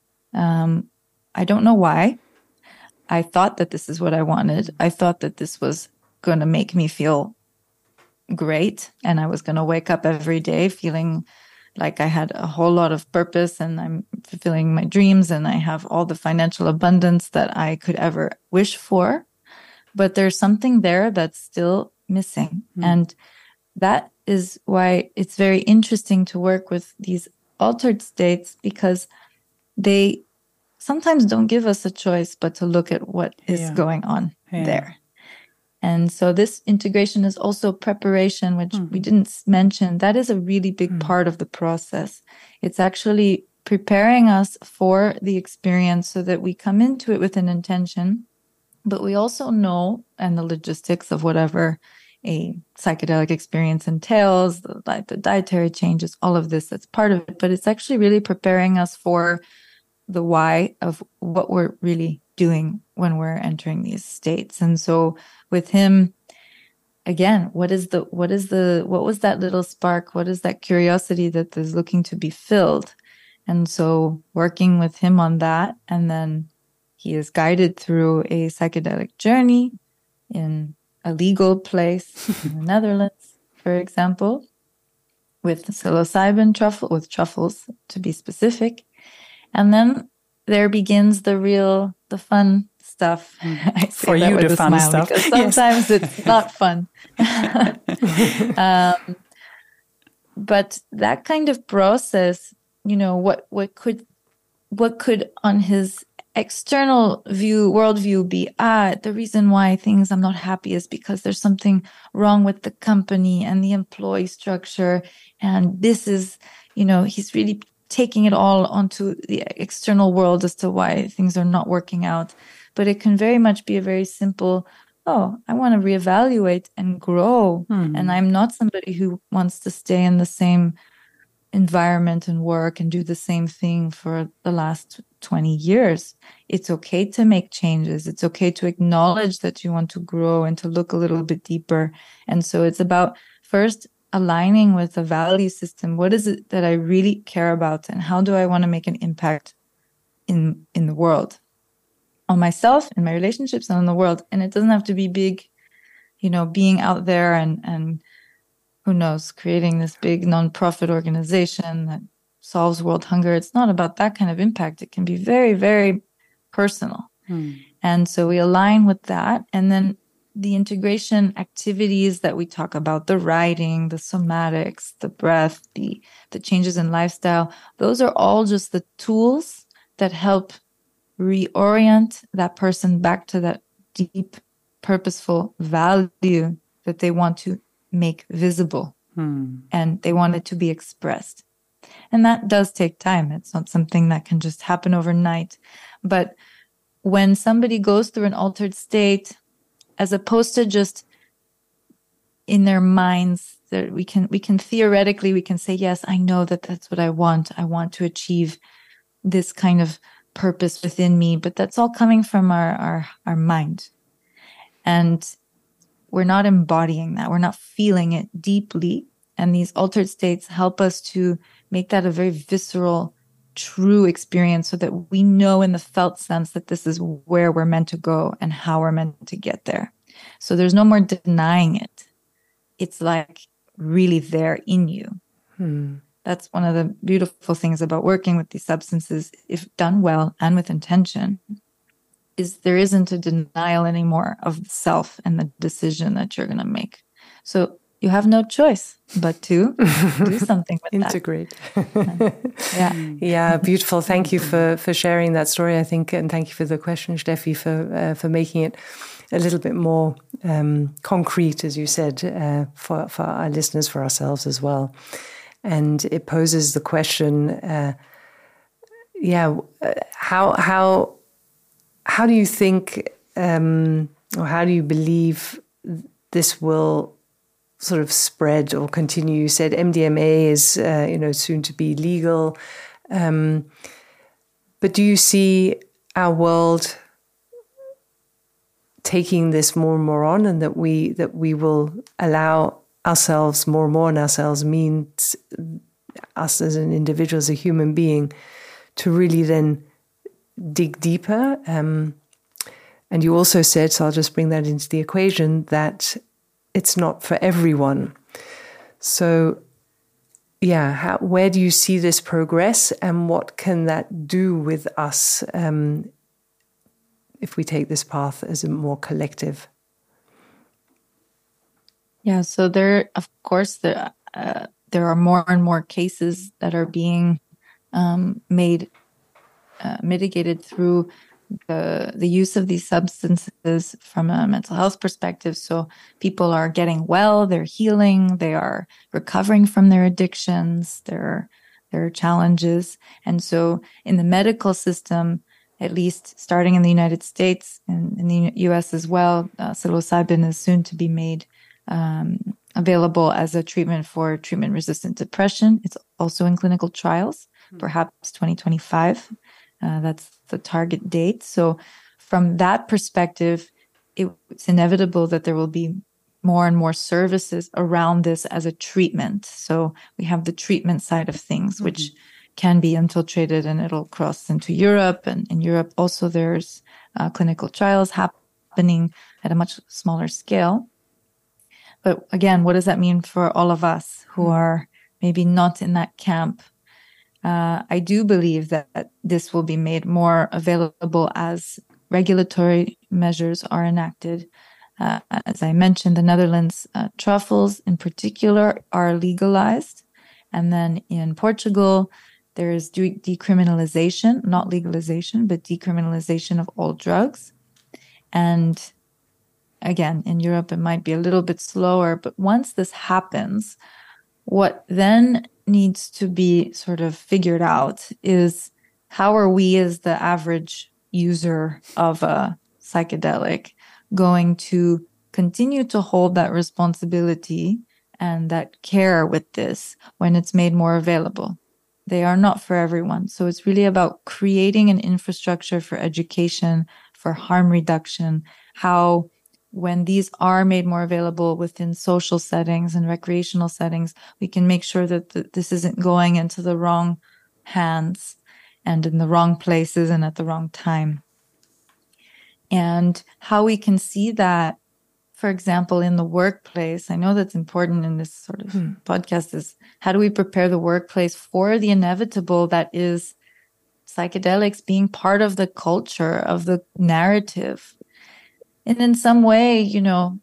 I don't know why. I thought that this is what I wanted. I thought that this was going to make me feel great, and I was going to wake up every day feeling like I had a whole lot of purpose, and I'm fulfilling my dreams, and I have all the financial abundance that I could ever wish for. But there's something there that's still missing. And that is why it's very interesting to work with these altered states, because they sometimes don't give us a choice but to look at what is going on there. And so this integration is also preparation, which we didn't mention. That is a really big part of the process. It's actually preparing us for the experience so that we come into it with an intention, but we also know, and the logistics of whatever a psychedelic experience entails, the dietary changes, all of this, that's part of it. But it's actually really preparing us for the why of what we're really doing when we're entering these states. And so with him, again, what was that little spark? What is that curiosity that is looking to be filled? And so working with him on that, and then he is guided through a psychedelic journey in a legal place in the Netherlands, for example, with psilocybin with truffles to be specific. And then there begins the fun stuff. I say for that you, with the a fun smile stuff. because sometimes it's not fun. But that kind of process, what could on his external worldview be, the reason why I'm not happy is because there's something wrong with the company and the employee structure. And this is, he's really taking it all onto the external world as to why things are not working out. But it can very much be a very simple, I want to reevaluate and grow. Mm-hmm. And I'm not somebody who wants to stay in the same environment and work and do the same thing for the last 20 years. It's okay to make changes. It's okay to acknowledge that you want to grow and to look a little bit deeper. And so it's about first aligning with the value system. What is it that I really care about, and how do I want to make an impact in the world, on myself, in my relationships, and in the world? And it doesn't have to be big, being out there and who knows, creating this big nonprofit organization that solves world hunger. It's not about that kind of impact. It can be very, very personal. And so we align with that. And then the integration activities that we talk about, the writing, the somatics, the breath, the changes in lifestyle, those are all just the tools that help reorient that person back to that deep, purposeful value that they want to make visible and they want it to be expressed. And that does take time. It's not something that can just happen overnight. But when somebody goes through an altered state, as opposed to just in their minds, that we can theoretically, we can say, yes, I know that that's what I want. I want to achieve this kind of purpose within me, but that's all coming from our mind. And we're not embodying that. We're not feeling it deeply. And these altered states help us to make that a very visceral, true experience so that we know in the felt sense that this is where we're meant to go and how we're meant to get there. So there's no more denying it. It's like really there in you. That's one of the beautiful things about working with these substances, if done well and with intention, is there isn't a denial anymore of the self and the decision that you're going to make. So you have no choice but to do something with integrate. Yeah. Yeah, beautiful. Thank you for sharing that story, I think, and thank you for the question, Steffi, for making it a little bit more concrete, as you said, for our listeners, for ourselves as well. And it poses the question, how do you think, or how do you believe this will sort of spread or continue? You said MDMA is, soon to be legal. But do you see our world taking this more and more on, and that we will allow ourselves more and more, and ourselves means us as an individual, as a human being, to really then dig deeper? And you also said, so I'll just bring that into the equation, that it's not for everyone. So, yeah, where do you see this progress, and what can that do with us if we take this path as a more collective? Yeah, so there are more and more cases that are being mitigated through the use of these substances from a mental health perspective. So people are getting well, they're healing, they are recovering from their addictions, their challenges. And so in the medical system, at least starting in the United States and in the US as well, psilocybin is soon to be made available as a treatment for treatment-resistant depression. It's also in clinical trials, perhaps 2025. That's the target date. So from that perspective, it's inevitable that there will be more and more services around this as a treatment. So we have the treatment side of things, which can be infiltrated and it'll cross into Europe. And in Europe also there's clinical trials happening at a much smaller scale. But again, what does that mean for all of us who are maybe not in that camp? I do believe that this will be made more available as regulatory measures are enacted. As I mentioned, the Netherlands, truffles in particular are legalized. And then in Portugal, there is decriminalization, not legalization, but decriminalization of all drugs. And again, in Europe, it might be a little bit slower. But once this happens, what then needs to be sort of figured out is how are we as the average user of a psychedelic going to continue to hold that responsibility and that care with this when it's made more available. They are not for everyone. So it's really about creating an infrastructure for education, for harm reduction, how when these are made more available within social settings and recreational settings, we can make sure that this isn't going into the wrong hands and in the wrong places and at the wrong time. And how we can see that, for example, in the workplace, I know that's important in this sort of podcast, is how do we prepare the workplace for the inevitable that is psychedelics being part of the culture, of the narrative. And in some way, you know,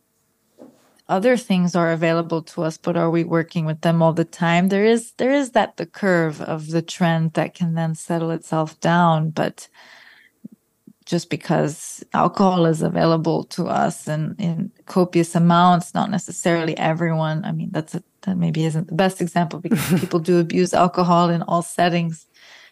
other things are available to us, but are we working with them all the time? There is that the curve of the trend that can then settle itself down. But just because alcohol is available to us and in copious amounts, not necessarily everyone. I mean, that maybe isn't the best example because people do abuse alcohol in all settings.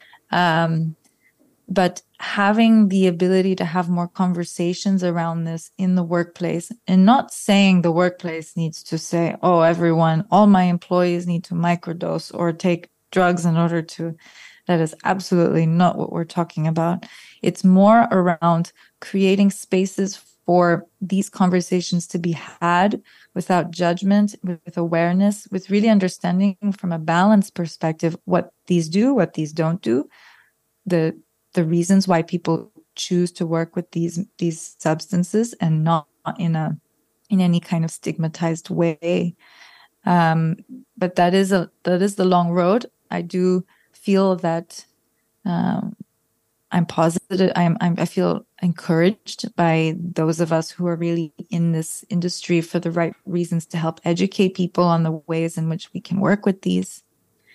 But having the ability to have more conversations around this in the workplace, and not saying the workplace needs to say, oh, all my employees need to microdose or take drugs in order to, that is absolutely not what we're talking about. It's more around creating spaces for these conversations to be had without judgment, with awareness, with really understanding from a balanced perspective what these do, what these don't do, the reasons why people choose to work with these substances, and not in any kind of stigmatized way. But that is the long road. I do feel that I'm positive. I feel encouraged by those of us who are really in this industry for the right reasons to help educate people on the ways in which we can work with these.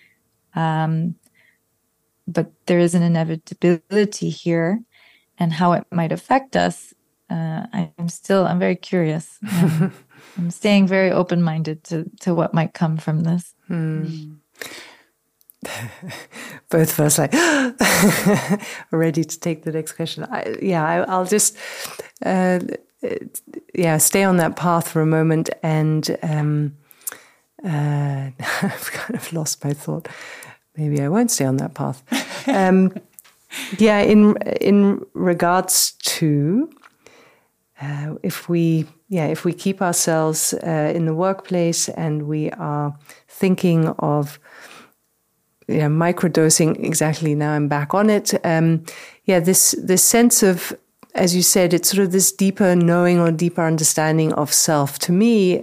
But there is an inevitability here, and how it might affect us. I'm very curious. I'm staying very open-minded to what might come from this. Both of us like ready to take the next question. I'll just stay on that path for a moment, and I've kind of lost my thought. Maybe I won't stay on that path. In regards to if we keep ourselves in the workplace and we are thinking of microdosing, exactly, now I'm back on it. This sense of, as you said, it's sort of this deeper knowing or deeper understanding of self. To me,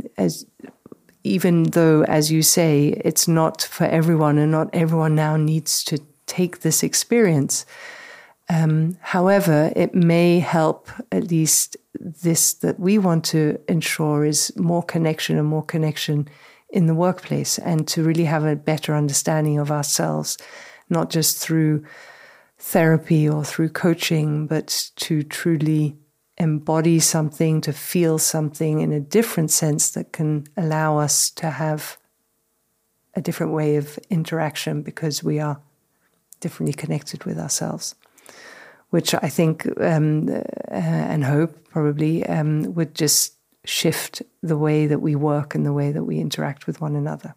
even though, as you say, it's not for everyone and not everyone now needs to take this experience. However, it may help, at least this that we want to ensure, is more connection in the workplace, and to really have a better understanding of ourselves, not just through therapy or through coaching, but to truly embody something, to feel something in a different sense that can allow us to have a different way of interaction because we are differently connected with ourselves, which I think and hope probably would just shift the way that we work and the way that we interact with one another.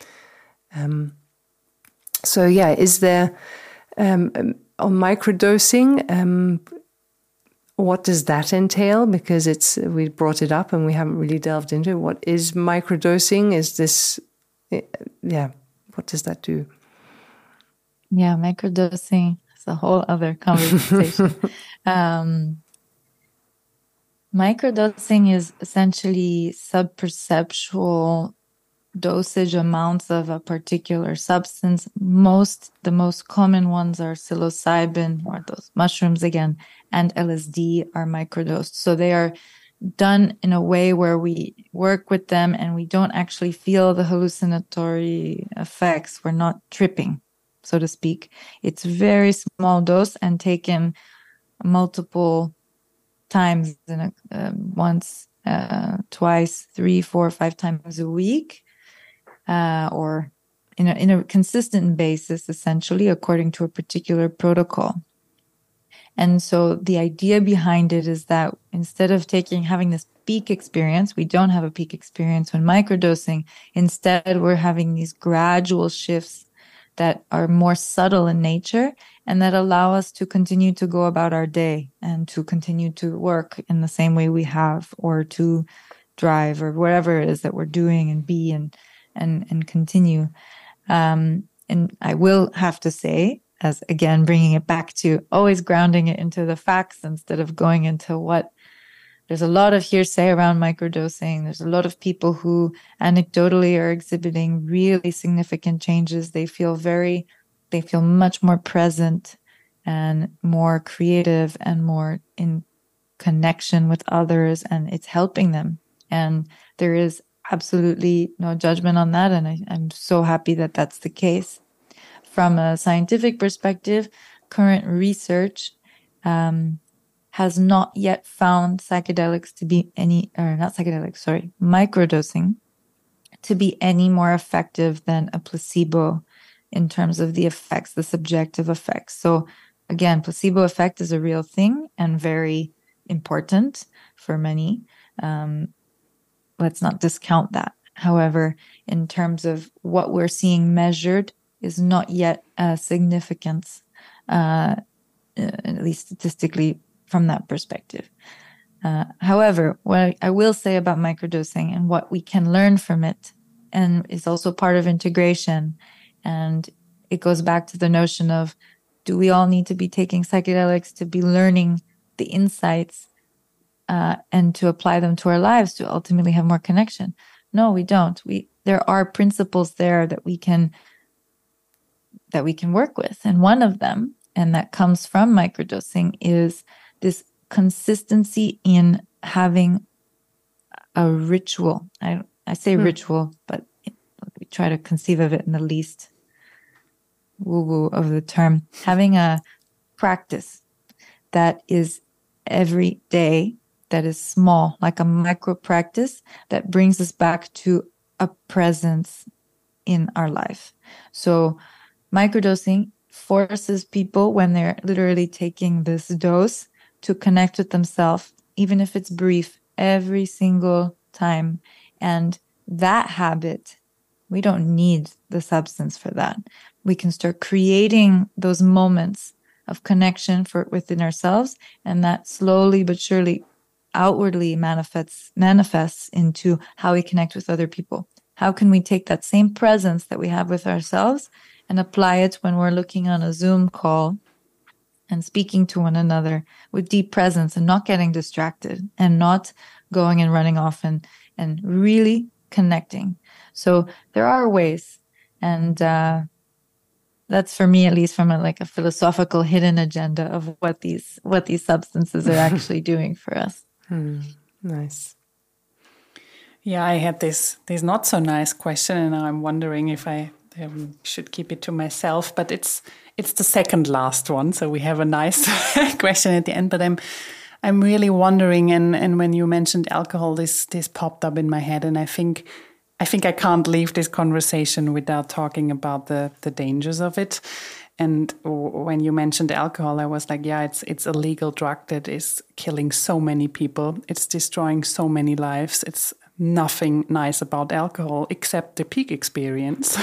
Is there on microdosing, what does that entail? Because we brought it up and we haven't really delved into it. What is microdosing? Is this, what does that do? Yeah, microdosing is a whole other conversation. Microdosing is essentially subperceptual dosage amounts of a particular substance. The most common ones are psilocybin, or those mushrooms again, and LSD are microdosed. So they are done in a way where we work with them and we don't actually feel the hallucinatory effects. We're not tripping, so to speak. It's very small dose and taken multiple times once, twice, 3, 4, 5 times a week, or in a consistent basis, essentially, according to a particular protocol. And so the idea behind it is that instead of having this peak experience, we don't have a peak experience when microdosing. Instead, we're having these gradual shifts that are more subtle in nature and that allow us to continue to go about our day and to continue to work in the same way we have, or to drive, or whatever it is that we're doing, and be and continue. And I will have to say, as again, bringing it back to always grounding it into the facts instead of going into what there's a lot of hearsay around microdosing. There's a lot of people who anecdotally are exhibiting really significant changes. They feel much more present and more creative and more in connection with others, and it's helping them. And there is absolutely no judgment on that. And I'm so happy that that's the case. From a scientific perspective, current research has not yet found microdosing to be any more effective than a placebo in terms of the effects, the subjective effects. So again, placebo effect is a real thing and very important for many. Let's not discount that. However, in terms of what we're seeing measured is not yet a significance, at least statistically from that perspective. However, what I will say about microdosing and what we can learn from it, and is also part of integration, and it goes back to the notion of, do we all need to be taking psychedelics to be learning the insights and to apply them to our lives to ultimately have more connection? No, we don't. There are principles there that we can work with. And one of them, and that comes from microdosing, is this consistency in having a ritual. I say ritual, but we try to conceive of it in the least woo-woo of the term. Having a practice that is every day, that is small, like a micro practice that brings us back to a presence in our life. So microdosing forces people, when they're literally taking this dose, to connect with themselves, even if it's brief, every single time. And that habit, we don't need the substance for that. We can start creating those moments of connection within ourselves, and that slowly but surely outwardly manifests into how we connect with other people. How can we take that same presence that we have with ourselves and apply it when we're looking on a Zoom call and speaking to one another with deep presence and not getting distracted and not going and running off and really connecting? So there are ways, and that's, for me at least, from a philosophical hidden agenda of what these substances are actually doing for us. Nice. Yeah, I had this not so nice question, and I'm wondering if I should keep it to myself. But it's the second last one, so we have a nice question at the end. But I'm really wondering, and when you mentioned alcohol, this popped up in my head, and I think I can't leave this conversation without talking about the dangers of it. And when you mentioned alcohol, I was like, yeah, it's a legal drug that is killing so many people. It's destroying so many lives. It's nothing nice about alcohol except the peak experience.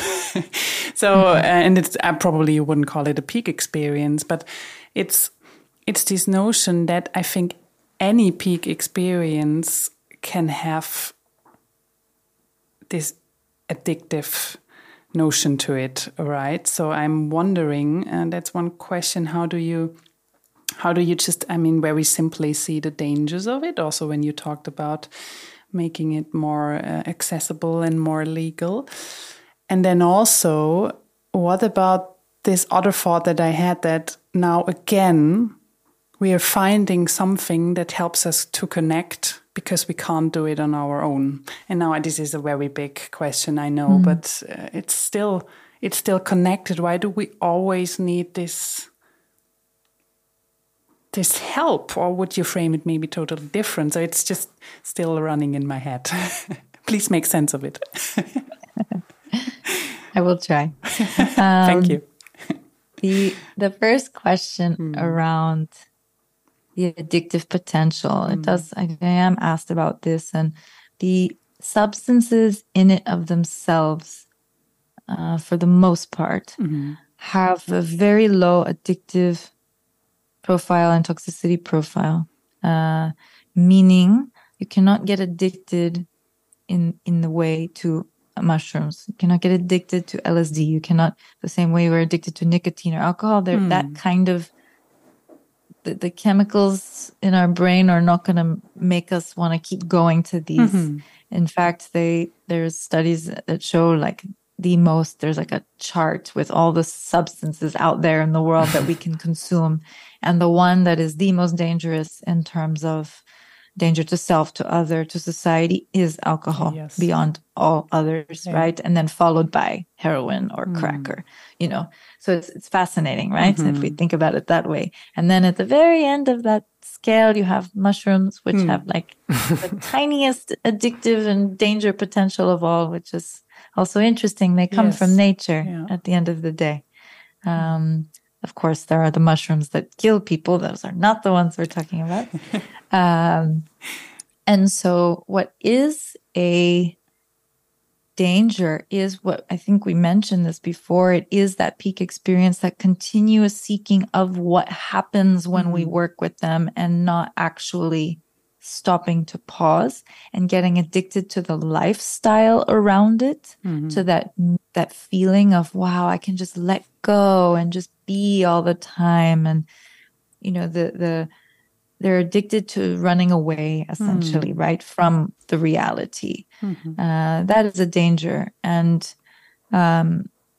So, and probably you wouldn't call it a peak experience, but it's this notion that I think any peak experience can have this addictive notion to it, right? So I'm wondering, and that's one question, how do you just, I mean, very simply see the dangers of it, also when you talked about making it more accessible and more legal. And then also, what about this other thought that I had, that now again, we are finding something that helps us to connect because we can't do it on our own. And now this is a very big question, I know, but it's still connected. Why do we always need this help? Or would you frame it maybe totally different? So it's just still running in my head. Please make sense of it. I will try. Thank you. The first question around the addictive potential, I am asked about this, and the substances in it of themselves, for the most part, have a very low addictive profile and toxicity profile, meaning you cannot get addicted in the way to mushrooms. You cannot get addicted to LSD. You cannot, the same way we're addicted to nicotine or alcohol, that kind of, the chemicals in our brain are not going to make us want to keep going to these. In fact, there's studies that show like there's like a chart with all the substances out there in the world that we can consume. And the one that is the most dangerous in terms of danger to self, to other, to society is alcohol, beyond all others, right? And then followed by heroin or crack, or, so it's fascinating, right? If we think about it that way. And then at the very end of that scale, you have mushrooms, which have like the tiniest addictive and danger potential of all, which is also interesting. They come from nature at the end of the day. Of course, there are the mushrooms that kill people. Those are not the ones we're talking about. And so what is a danger is what I think we mentioned this before. It is that peak experience, that continuous seeking of what happens when we work with them, and not actually stopping to pause and getting addicted to the lifestyle around it, to that feeling of, wow, I can just let go and just be all the time. And, they're addicted to running away, essentially, right, from the reality. That is a danger. And I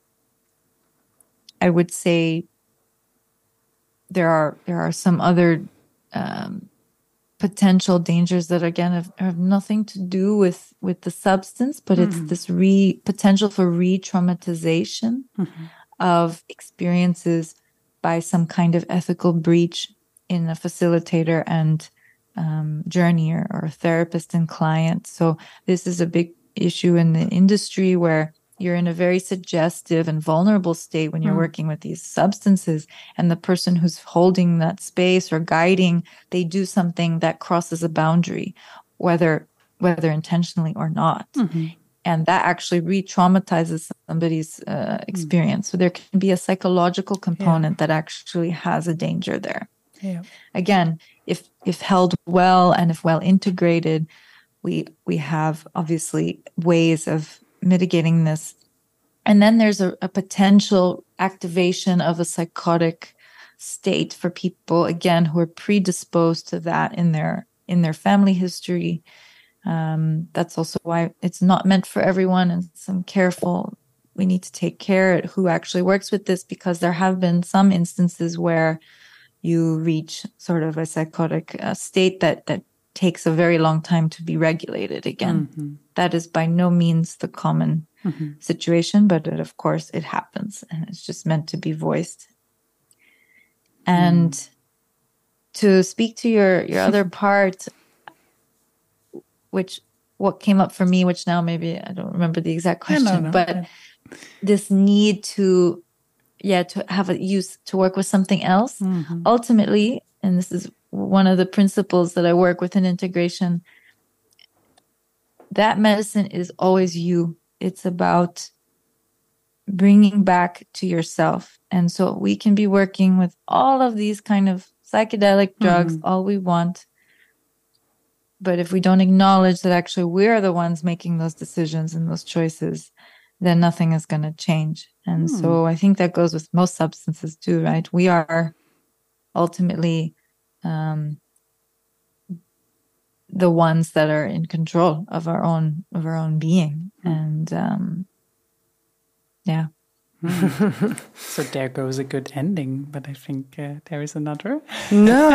would say there are some other potential dangers that, again, have nothing to do with the substance, but it's this potential for re-traumatization of experiences by some kind of ethical breach in a facilitator and journeyer, or therapist and client. So this is a big issue in the industry, where you're in a very suggestive and vulnerable state when you're working with these substances, and the person who's holding that space or guiding, they do something that crosses a boundary, whether intentionally or not. And that actually re-traumatizes somebody's experience. So there can be a psychological component that actually has a danger there. Again, if held well and if well integrated, we have obviously ways of mitigating this. And then there's a potential activation of a psychotic state for people, again, who are predisposed to that in their family history. That's also why it's not meant for everyone, and we need to take care at who actually works with this, because there have been some instances where you reach sort of a psychotic state that takes a very long time to be regulated again. That is by no means the common situation, but of course it happens, and it's just meant to be voiced. And to speak to your other part, what came up for me, which now maybe I don't remember the exact question, but this need to have a use to work with something else. Ultimately, and this is one of the principles that I work with in integration, that medicine is always you. It's about bringing back to yourself. And so we can be working with all of these kind of psychedelic drugs all we want. But if we don't acknowledge that actually we're the ones making those decisions and those choices, then nothing is going to change. And so I think that goes with most substances too, right? We are ultimately the ones that are in control of our own being. And yeah. So there goes a good ending, but I think there is another. No,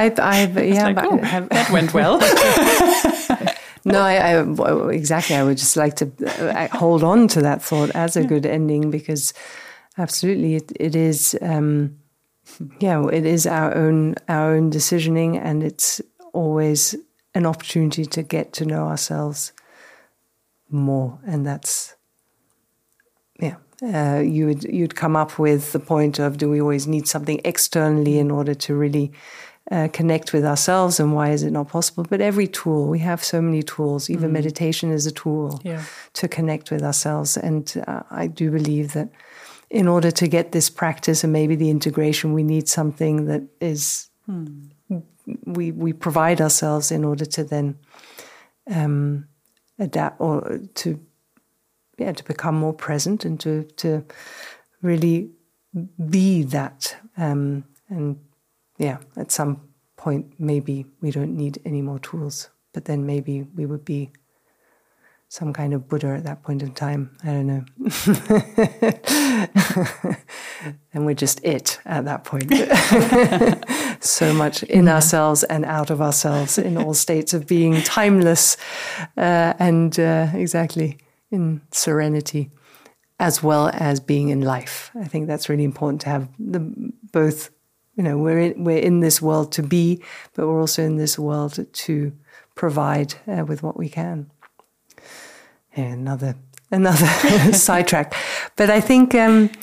that went well. No, exactly. I would just like to hold on to that thought as a good ending, because absolutely it is. It is our own decisioning, and it's always an opportunity to get to know ourselves more, and that's you'd come up with the point of, do we always need something externally in order to really connect with ourselves, and why is it not possible? But every tool, we have so many tools, even meditation is a tool to connect with ourselves. And I do believe that in order to get this practice and maybe the integration, we need something that is, we provide ourselves in order to then adapt, or to become more present, and to really be that. At some point, maybe we don't need any more tools, but then maybe we would be some kind of Buddha at that point in time. I don't know. And we're just it at that point. So much in ourselves and out of ourselves, in all states of being, timeless, and exactly in serenity, as well as being in life. I think that's really important to have both. We're in this world to be, but we're also in this world to provide with what we can. Another sidetrack, but I think,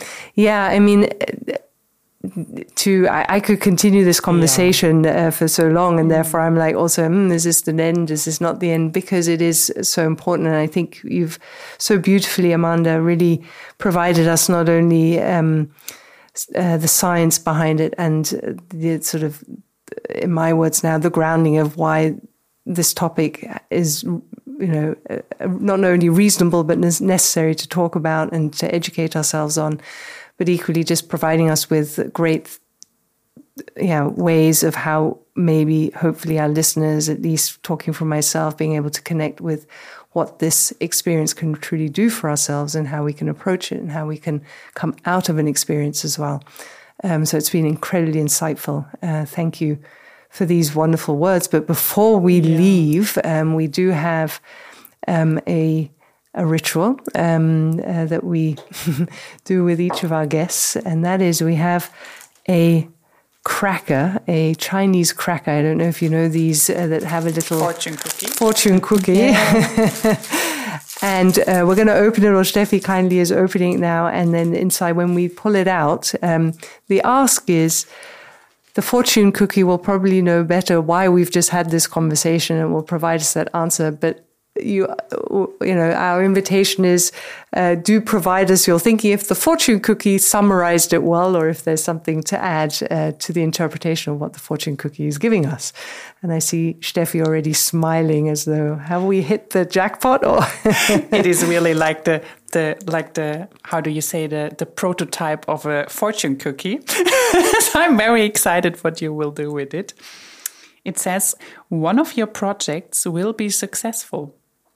I could continue this conversation for so long, and therefore I'm like, also, is this the end? Is this not the end? Because it is so important, and I think you've so beautifully, Amanda, really provided us not only the science behind it, and the sort of, in my words now, the grounding of why this topic is, not only reasonable but necessary to talk about and to educate ourselves on, but equally just providing us with great ways of how maybe, hopefully, our listeners, at least talking for myself, being able to connect with what this experience can truly do for ourselves, and how we can approach it, and how we can come out of an experience as well. So it's been incredibly insightful. Thank you for these wonderful words. But before we leave, we do have a ritual that we do with each of our guests, and that is, we have a cracker, a Chinese cracker. I don't know if you know these that have a little fortune cookie. Yeah. And we're going to open it, or Steffi kindly is opening it now. And then inside, when we pull it out, the ask is, the fortune cookie will probably know better why we've just had this conversation, and will provide us that answer. But our invitation is, do provide us your thinking if the fortune cookie summarized it well, or if there's something to add to the interpretation of what the fortune cookie is giving us. And I see Steffi already smiling, as though, have we hit the jackpot? Or it is really like the how do you say, the prototype of a fortune cookie. So I'm very excited what you will do with it. It says, one of your projects will be successful.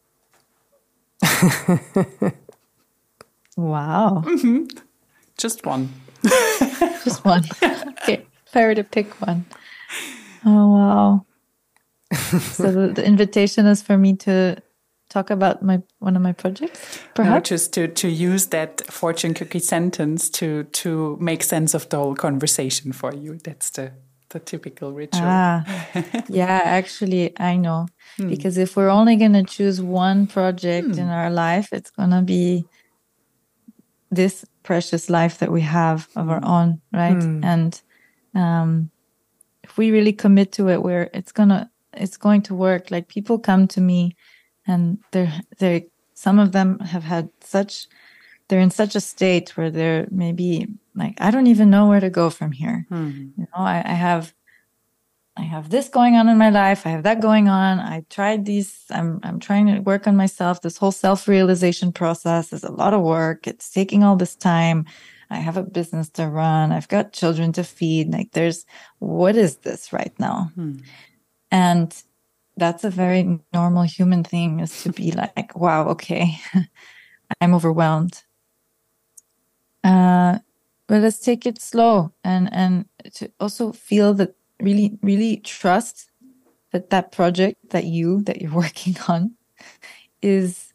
Wow. Mm-hmm. Just one. Just one. Okay, if I were to pick one. Oh, wow. So the invitation is for me to talk about one of my projects, perhaps? No, just to use that fortune cookie sentence to make sense of the whole conversation for you. That's the typical ritual. Yeah, actually, I know. Because if we're only going to choose one project in our life, it's going to be this precious life that we have of our own, right? And if we really commit to it, it's going to work. Like, people come to me, and some of them have had they're in such a state where they're maybe like, I don't even know where to go from here. I have I have this going on in my life. I have that going on. I tried these. I'm trying to work on myself. This whole self-realization process is a lot of work. It's taking all this time. I have a business to run. I've got children to feed. Like what is this right now? And that's a very normal human thing, is to be like, wow, okay, I'm overwhelmed. But let's take it slow and to also feel that really, really trust that project that you're working on is,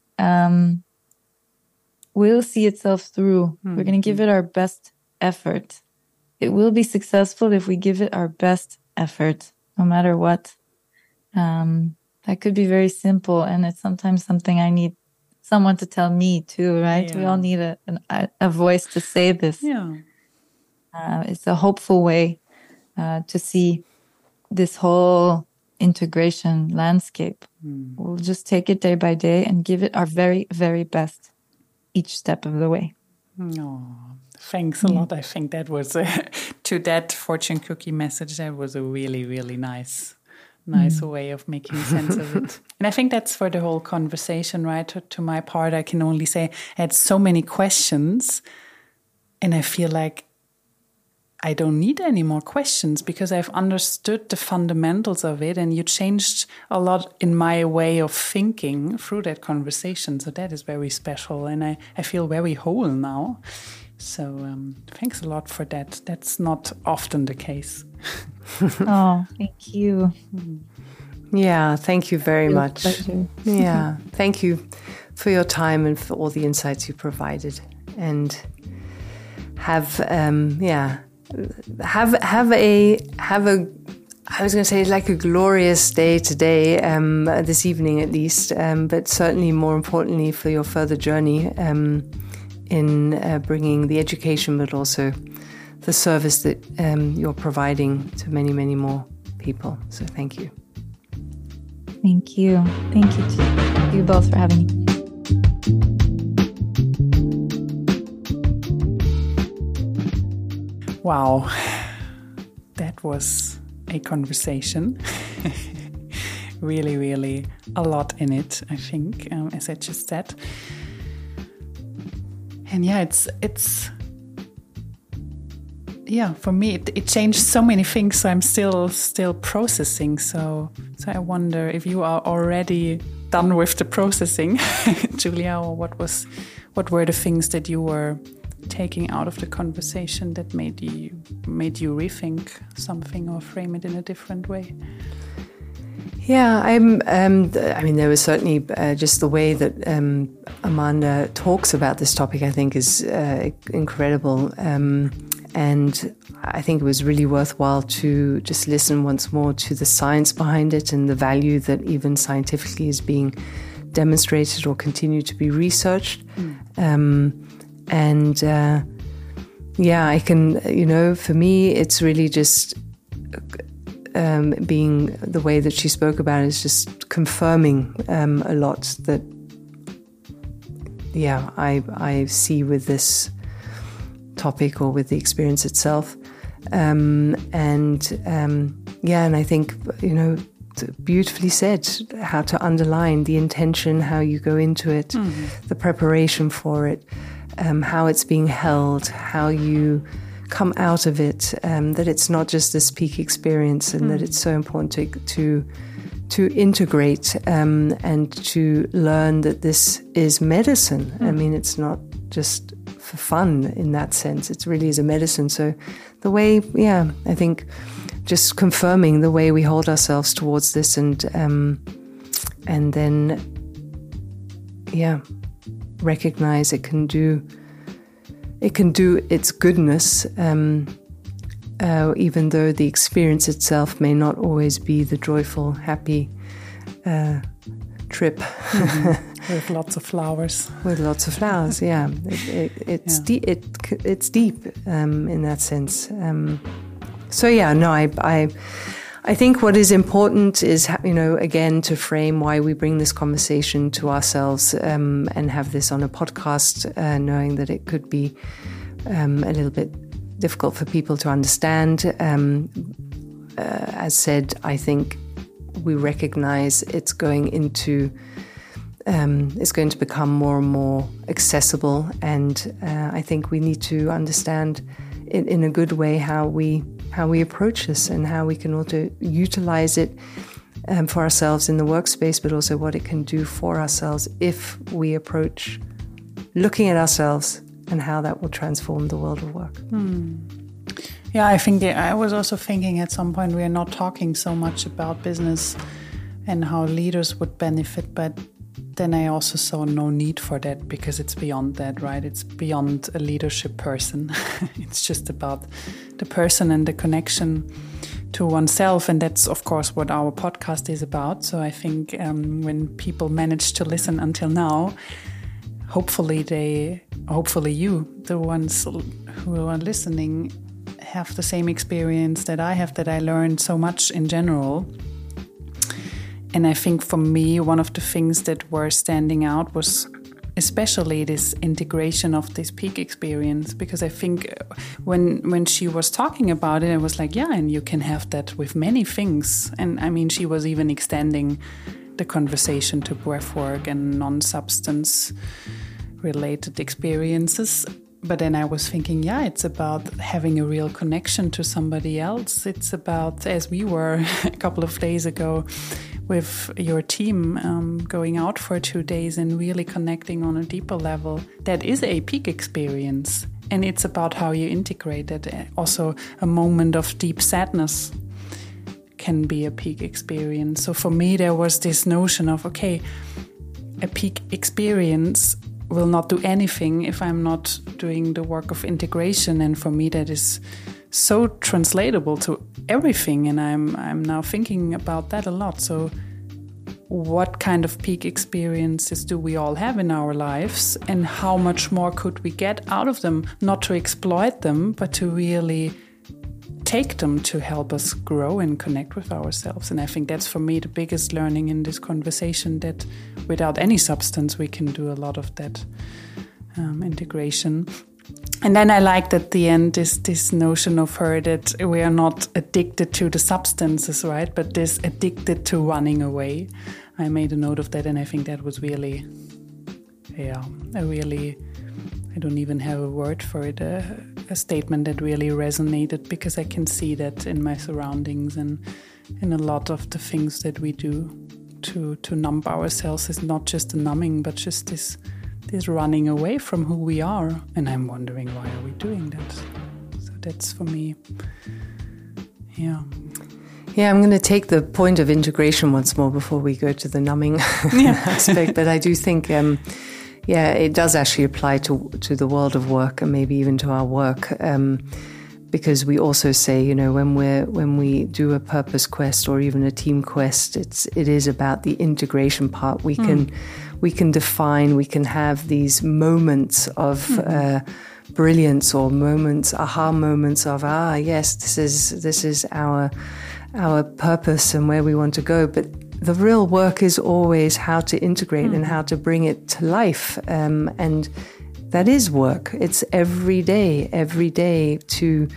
will see itself through. We're going to give it our best effort. It will be successful if we give it our best effort, no matter what. That could be very simple. And it's sometimes something I need someone to tell me too, right? Yeah. We all need a voice to say this. Yeah. It's a hopeful way to see this whole integration landscape. We'll just take it day by day and give it our very, very best each step of the way. Oh, thanks a lot. I think that was, to that fortune cookie message, that was a really, really nice way of making sense of it. And I think that's for the whole conversation, right? To my part, I can only say I had so many questions, and I feel like I don't need any more questions because I've understood the fundamentals of it, and you changed a lot in my way of thinking through that conversation. So that is very special, and I feel very whole now. So thanks a lot for that. That's not often the case. Oh, thank you. Yeah, thank you very much. Pleasure. Yeah, thank you for your time and for all the insights you provided. And have a I was going to say like a glorious day today, this evening at least, but certainly more importantly for your further journey in bringing the education, but also the service that you're providing to many, many more people. So thank you. Thank you. Thank you to you both for having me. Wow, that was a conversation. Really, really a lot in it, I think, as I just said. And yeah, it's for me, it changed so many things. So I'm still processing. So I wonder if you are already done with the processing, Julia, or what were the things that you were taking out of the conversation that made you rethink something or frame it in a different way? Yeah, I mean, there was certainly just the way that Amanda talks about this topic, I think, is incredible. And I think it was really worthwhile to just listen once more to the science behind it and the value that even scientifically is being demonstrated or continue to be researched. I can, for me, it's really just being the way that she spoke about it is just confirming a lot that, I see with this topic or with the experience itself. And I think, beautifully said, how to underline the intention, how you go into it, the preparation for it, how it's being held, how you come out of it, that it's not just this peak experience, and that it's so important to integrate and to learn that this is medicine. I mean, it's not just for fun in that sense. It really is a medicine. So the way, I think just confirming the way we hold ourselves towards this and then, recognize it can do its goodness, even though the experience itself may not always be the joyful, happy trip. With lots of flowers. With lots of flowers, yeah. It's deep in that sense. I think what is important is, again, to frame why we bring this conversation to ourselves and have this on a podcast, knowing that it could be a little bit difficult for people to understand. as said, I think we recognize it's going to become more and more accessible, and I think we need to understand in a good way how we approach this and how we can also utilize it for ourselves in the workspace, but also what it can do for ourselves if we approach looking at ourselves and how that will transform the world of work. Yeah, I think I was also thinking at some point we are not talking so much about business and how leaders would benefit, but then I also saw no need for that because it's beyond that, right? It's beyond a leadership person. It's just about the person and the connection to oneself. And that's, of course, what our podcast is about. So I think when people manage to listen until now, hopefully you, the ones who are listening, have the same experience that I have, that I learned so much in general. And I think for me, one of the things that were standing out was especially this integration of this peak experience, because I think when she was talking about it, I was like, yeah, and you can have that with many things. And I mean, she was even extending the conversation to breathwork and non-substance related experiences. But then I was thinking, yeah, it's about having a real connection to somebody else. It's about, as we were a couple of days ago with your team, going out for 2 days and really connecting on a deeper level. That is a peak experience. And it's about how you integrate it. Also, a moment of deep sadness can be a peak experience. So for me, there was this notion of, okay, a peak experience will not do anything if I'm not doing the work of integration. And for me, that is so translatable to everything. And I'm now thinking about that a lot. So what kind of peak experiences do we all have in our lives? And how much more could we get out of them? Not to exploit them, but to really take them to help us grow and connect with ourselves. And I think that's for me the biggest learning in this conversation, that without any substance we can do a lot of that integration. And then I liked at the end this notion of her that we are not addicted to the substances, right? But this addicted to running away. I made a note of that, and I think that was really, I don't even have a word for it, a statement that really resonated, because I can see that in my surroundings and in a lot of the things that we do to numb ourselves. Is not just a numbing, but just this running away from who we are. And I'm wondering, why are we doing that? So that's for me, yeah. Yeah, I'm going to take the point of integration once more before we go to the numbing aspect. But I do think, it does actually apply to the world of work and maybe even to our work. Because we also say, when we do a purpose quest or even a team quest, it is about the integration part. We can define, we can have these moments of brilliance, or aha moments of yes, this is our purpose and where we want to go. But the real work is always how to integrate and how to bring it to life, and that is work. It's every day to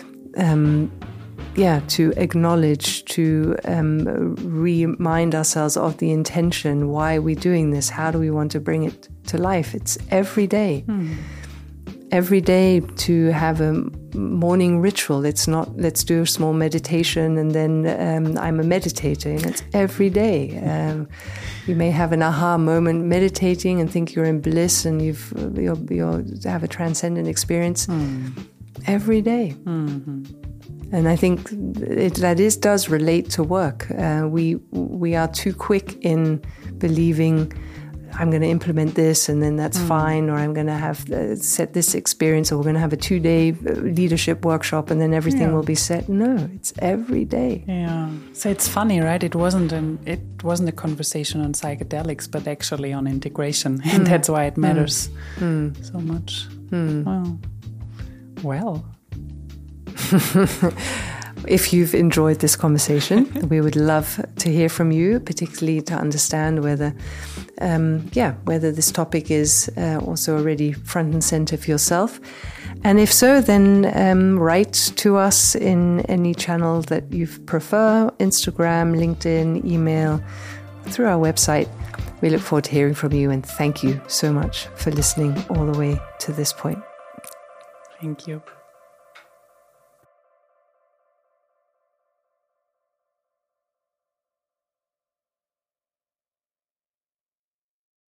acknowledge, to remind ourselves of the intention. Why are we doing this? How do we want to bring it to life? It's every day. Every day to have a morning ritual. It's not, let's do a small meditation and then I'm a meditator. It's every day. You may have an aha moment meditating and think you're in bliss and you have a transcendent experience every day. And I think that does relate to work. We are too quick in believing, I'm going to implement this and then that's fine, or I'm going to have set this experience, or we're going to have a 2-day leadership workshop and then everything will be set. No, it's every day. Yeah. So it's funny, right? It wasn't a conversation on psychedelics, but actually on integration, and that's why it matters so much. Well. if you've enjoyed this conversation. We would love to hear from you, particularly to understand whether this topic is also already front and center for yourself. And if so, then write to us in any channel that you prefer, Instagram, LinkedIn, email, through our website. We look forward to hearing from you, and thank you so much for listening all the way to this point. Thank you.